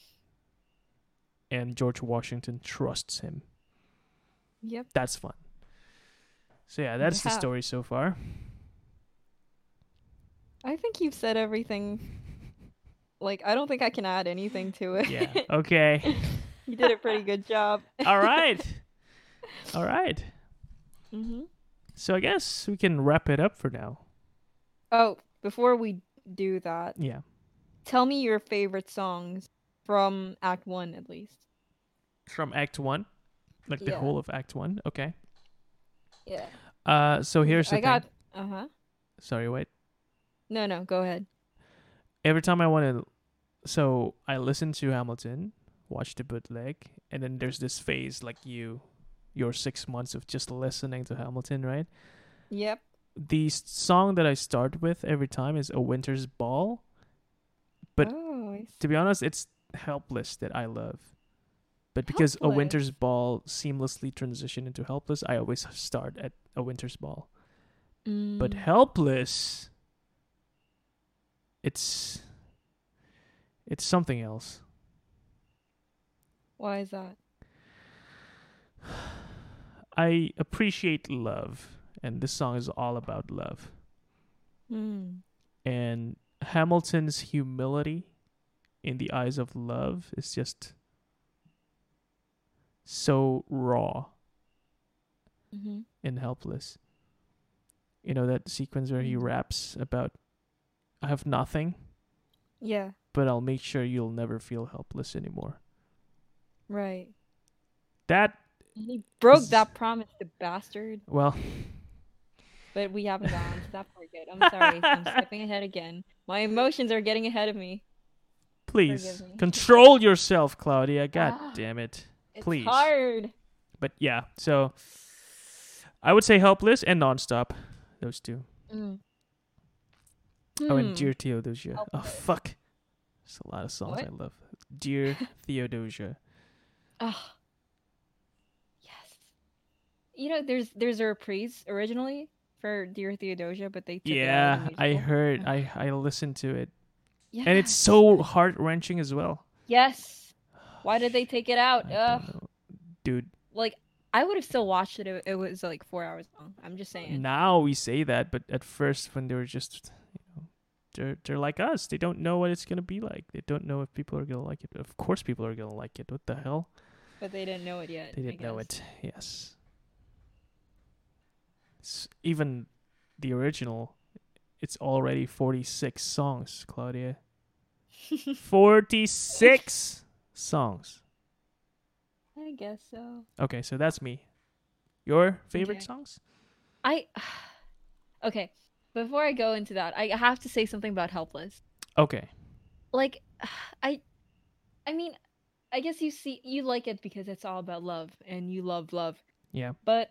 [SPEAKER 1] and George Washington trusts him.
[SPEAKER 2] Yep.
[SPEAKER 1] That's fun. So yeah, that's the
[SPEAKER 2] Yeah.
[SPEAKER 1] story so far.
[SPEAKER 2] I think you've said everything. Like, I don't think I can add anything to
[SPEAKER 1] Yeah.
[SPEAKER 2] it.
[SPEAKER 1] Okay.
[SPEAKER 2] You did a pretty good job.
[SPEAKER 1] All right. All right.
[SPEAKER 2] Mhm.
[SPEAKER 1] So I guess we can wrap it up for now.
[SPEAKER 2] Oh, before we do that,
[SPEAKER 1] Yeah.
[SPEAKER 2] tell me your favorite songs from Act 1 at least.
[SPEAKER 1] From Act One, like the
[SPEAKER 2] Yeah.
[SPEAKER 1] whole of Act One. Okay.
[SPEAKER 2] Yeah.
[SPEAKER 1] So
[SPEAKER 2] 'Cause
[SPEAKER 1] here's the
[SPEAKER 2] I
[SPEAKER 1] thing.
[SPEAKER 2] got uh-huh.
[SPEAKER 1] Sorry, wait.
[SPEAKER 2] No, no, go ahead.
[SPEAKER 1] Every time I want to, so I listen to Hamilton, watch the bootleg, and then there's this phase like your 6 months of just listening to Hamilton, right?
[SPEAKER 2] Yep.
[SPEAKER 1] The song that I start with every time is A Winter's Ball, but
[SPEAKER 2] Oh, I
[SPEAKER 1] to be
[SPEAKER 2] see.
[SPEAKER 1] honest, it's Helpless that I love. But because A Winter's
[SPEAKER 2] Helpless.
[SPEAKER 1] Ball seamlessly transitioned into Helpless, I always start at A Winter's Ball. But
[SPEAKER 2] Mm,
[SPEAKER 1] Helpless, it's it's something else.
[SPEAKER 2] why is that?
[SPEAKER 1] I appreciate love, and this song is all about love.
[SPEAKER 2] Hmm.
[SPEAKER 1] And Hamilton's humility in the eyes of love is just so raw
[SPEAKER 2] Mhm.
[SPEAKER 1] and helpless. That sequence where he
[SPEAKER 2] Mm.
[SPEAKER 1] raps about, I have nothing,
[SPEAKER 2] Yeah,
[SPEAKER 1] but I'll make sure you'll never feel helpless anymore.
[SPEAKER 2] right.
[SPEAKER 1] That
[SPEAKER 2] He broke
[SPEAKER 1] is,
[SPEAKER 2] that promise, the bastard.
[SPEAKER 1] well,
[SPEAKER 2] But we haven't gone to that part yet. I'm sorry. I'm skipping ahead again. My emotions are getting ahead of me. Forgive
[SPEAKER 1] please
[SPEAKER 2] me.
[SPEAKER 1] control yourself, Claudia. God
[SPEAKER 2] Ah,
[SPEAKER 1] damn it.
[SPEAKER 2] it's
[SPEAKER 1] Please.
[SPEAKER 2] hard.
[SPEAKER 1] But yeah, so I would say Helpless and Nonstop. Those two.
[SPEAKER 2] Mm.
[SPEAKER 1] Oh, and
[SPEAKER 2] Hmm.
[SPEAKER 1] Dear Theodosia. Oh,
[SPEAKER 2] Helpless.
[SPEAKER 1] fuck. There's a lot of songs
[SPEAKER 2] What?
[SPEAKER 1] I love. Dear Theodosia.
[SPEAKER 2] Ah, yes. There's a reprise originally for Dear Theodosia, but they took it out of the
[SPEAKER 1] Yeah, I
[SPEAKER 2] musical.
[SPEAKER 1] heard.
[SPEAKER 2] Ah,
[SPEAKER 1] I listened to it, and it's
[SPEAKER 2] yes.
[SPEAKER 1] so heart wrenching as well.
[SPEAKER 2] Yes. Why did they take it out?
[SPEAKER 1] I don't know, dude.
[SPEAKER 2] Like I would have still watched it if it was like 4 hours long. I'm just saying.
[SPEAKER 1] Now we say that, but at first, when they were just, they're like us. They don't know what it's gonna be like. They don't know if people are gonna like it. Of course, people are gonna like it. What the hell?
[SPEAKER 2] But they didn't know it yet,
[SPEAKER 1] They
[SPEAKER 2] I
[SPEAKER 1] didn't know
[SPEAKER 2] guess.
[SPEAKER 1] it. Yes. Even the original, it's already 46 songs, Claudia. 46 songs.
[SPEAKER 2] I guess so.
[SPEAKER 1] Okay, so that's me. Your favorite
[SPEAKER 2] Okay.
[SPEAKER 1] songs?
[SPEAKER 2] I okay. Before I go into that, I have to say something about Helpless.
[SPEAKER 1] Okay.
[SPEAKER 2] Like I I mean, I guess you like it because it's all about love and you love love.
[SPEAKER 1] Yeah.
[SPEAKER 2] But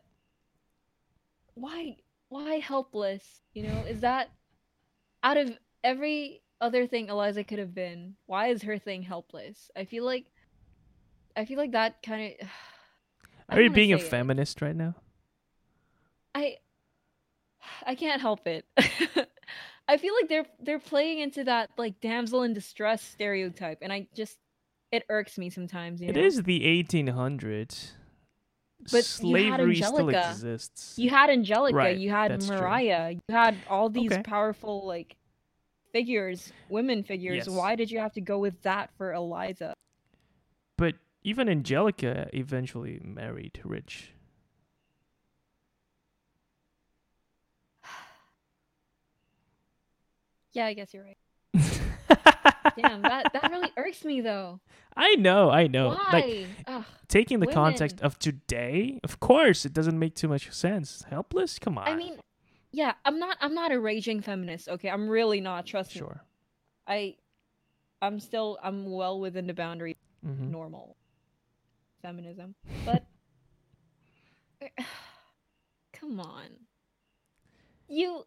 [SPEAKER 2] why why Helpless? Is that out of every other thing Eliza could have been? Why is her thing helpless? I feel like that kind of I
[SPEAKER 1] Are
[SPEAKER 2] don't
[SPEAKER 1] you
[SPEAKER 2] want to
[SPEAKER 1] being a
[SPEAKER 2] say it.
[SPEAKER 1] feminist right now?
[SPEAKER 2] I I can't help it. I feel like they're playing into that like damsel in distress stereotype, and it irks me sometimes, you
[SPEAKER 1] It
[SPEAKER 2] know.
[SPEAKER 1] is the 1800s.
[SPEAKER 2] But you had
[SPEAKER 1] Slavery still
[SPEAKER 2] Angelica,
[SPEAKER 1] exists.
[SPEAKER 2] you
[SPEAKER 1] Right,
[SPEAKER 2] had
[SPEAKER 1] that's true.
[SPEAKER 2] Mariah, you had all these
[SPEAKER 1] Okay.
[SPEAKER 2] powerful like figures, women figures.
[SPEAKER 1] Yes.
[SPEAKER 2] Why did you have to go with that for Eliza?
[SPEAKER 1] But even Angelica eventually married Rich.
[SPEAKER 2] Yeah, I guess you're right. Damn, that really irks me though.
[SPEAKER 1] I know. Like,
[SPEAKER 2] Why? Ugh,
[SPEAKER 1] taking the context
[SPEAKER 2] women.
[SPEAKER 1] of today, of course, it doesn't make too much sense. Helpless? Come
[SPEAKER 2] I
[SPEAKER 1] on.
[SPEAKER 2] mean, yeah, I'm not a raging feminist, okay? I'm really not, trust me.
[SPEAKER 1] Sure.
[SPEAKER 2] I I'm well within the boundary of
[SPEAKER 1] Mm-hmm.
[SPEAKER 2] normal feminism. But come on. You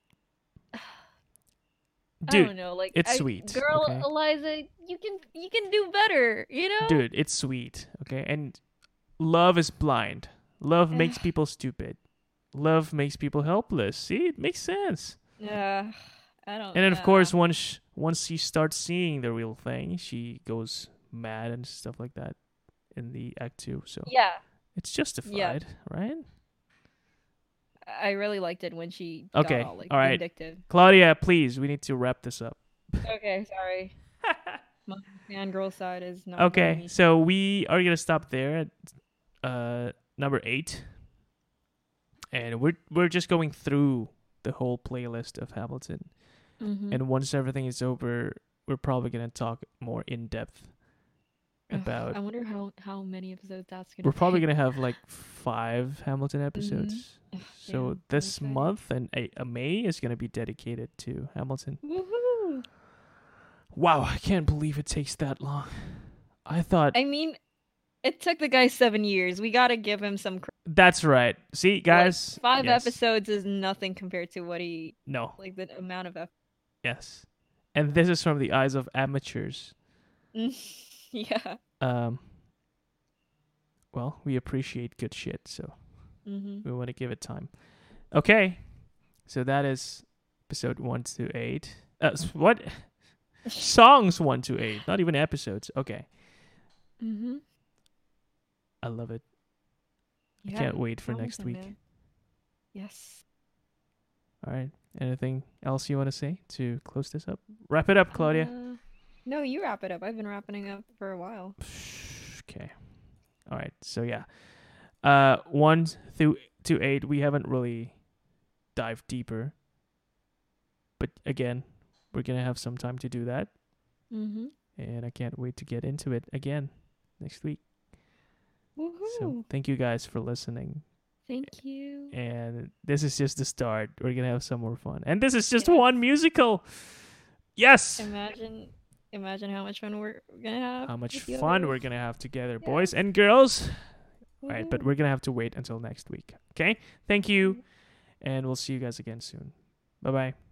[SPEAKER 2] I
[SPEAKER 1] Dude,
[SPEAKER 2] don't know, like
[SPEAKER 1] it's
[SPEAKER 2] I
[SPEAKER 1] sweet,
[SPEAKER 2] girl
[SPEAKER 1] okay?
[SPEAKER 2] Eliza, you can do better, you know?
[SPEAKER 1] Dude, it's sweet, okay? And love is blind. Love makes people stupid. Love makes people helpless. See, it makes sense.
[SPEAKER 2] Yeah, I don't
[SPEAKER 1] And then, of
[SPEAKER 2] yeah.
[SPEAKER 1] course, once she starts seeing the real thing, she goes mad and stuff like that in the act two. So
[SPEAKER 2] Yeah.
[SPEAKER 1] it's
[SPEAKER 2] Yeah.
[SPEAKER 1] justified, right?
[SPEAKER 2] I really liked it when she got
[SPEAKER 1] Okay,
[SPEAKER 2] all like
[SPEAKER 1] all right,
[SPEAKER 2] vindictive.
[SPEAKER 1] Claudia, please, we need to wrap this up.
[SPEAKER 2] Okay, sorry. My fangirl side is not letting
[SPEAKER 1] Okay,
[SPEAKER 2] me.
[SPEAKER 1] so we are gonna stop there at number 8, and we're just going through the whole playlist of Hamilton.
[SPEAKER 2] Mm-hmm.
[SPEAKER 1] And once everything is over, we're probably gonna talk more in depth about.
[SPEAKER 2] I wonder how many episodes that's gonna
[SPEAKER 1] We're probably
[SPEAKER 2] be.
[SPEAKER 1] gonna have like 5 Hamilton
[SPEAKER 2] Mm-hmm.
[SPEAKER 1] episodes. So
[SPEAKER 2] Damn, I'm
[SPEAKER 1] this
[SPEAKER 2] excited.
[SPEAKER 1] month and a May is gonna be dedicated to Hamilton.
[SPEAKER 2] Woohoo!
[SPEAKER 1] Wow, I can't believe it takes that long. I thought
[SPEAKER 2] I mean, it took the guy 7 years. We gotta give him some credit.
[SPEAKER 1] that's right. See,
[SPEAKER 2] Like
[SPEAKER 1] guys.
[SPEAKER 2] five
[SPEAKER 1] Yes.
[SPEAKER 2] episodes is nothing compared to what he
[SPEAKER 1] No.
[SPEAKER 2] like the amount of effort.
[SPEAKER 1] Yes. And this is from the eyes of amateurs.
[SPEAKER 2] Yeah.
[SPEAKER 1] Well, we appreciate good shit, so
[SPEAKER 2] Mm-hmm.
[SPEAKER 1] we want to give it time. Okay. So that is episode 1 to 8. What? Songs 1 to 8, not even episodes. Okay.
[SPEAKER 2] Mm-hmm.
[SPEAKER 1] I love it.
[SPEAKER 2] Yeah.
[SPEAKER 1] I can't wait for next
[SPEAKER 2] Hamilton,
[SPEAKER 1] week.
[SPEAKER 2] man. Yes.
[SPEAKER 1] All right. Anything else you want to say to close this up? Wrap it up, Claudia.
[SPEAKER 2] No, you wrap it up. I've been wrapping up for a while.
[SPEAKER 1] Okay. All right. So yeah. 1 through to 8, we haven't really dived deeper. But again, we're going to have some time to do that.
[SPEAKER 2] Mm-hmm.
[SPEAKER 1] And I can't wait to get into it again next week.
[SPEAKER 2] Woohoo!
[SPEAKER 1] So thank you guys for listening.
[SPEAKER 2] Thank you.
[SPEAKER 1] And this is just the start. We're going to have some more fun. And this is just
[SPEAKER 2] Yes.
[SPEAKER 1] one musical. Yes.
[SPEAKER 2] Imagine how much fun we're gonna have.
[SPEAKER 1] How much
[SPEAKER 2] with the
[SPEAKER 1] fun
[SPEAKER 2] others.
[SPEAKER 1] we're going to have together,
[SPEAKER 2] Yeah.
[SPEAKER 1] boys and girls. All right, but
[SPEAKER 2] Woohoo.
[SPEAKER 1] we're going to have to wait until next week. Okay? Thank you. And we'll see you guys again soon. Bye-bye.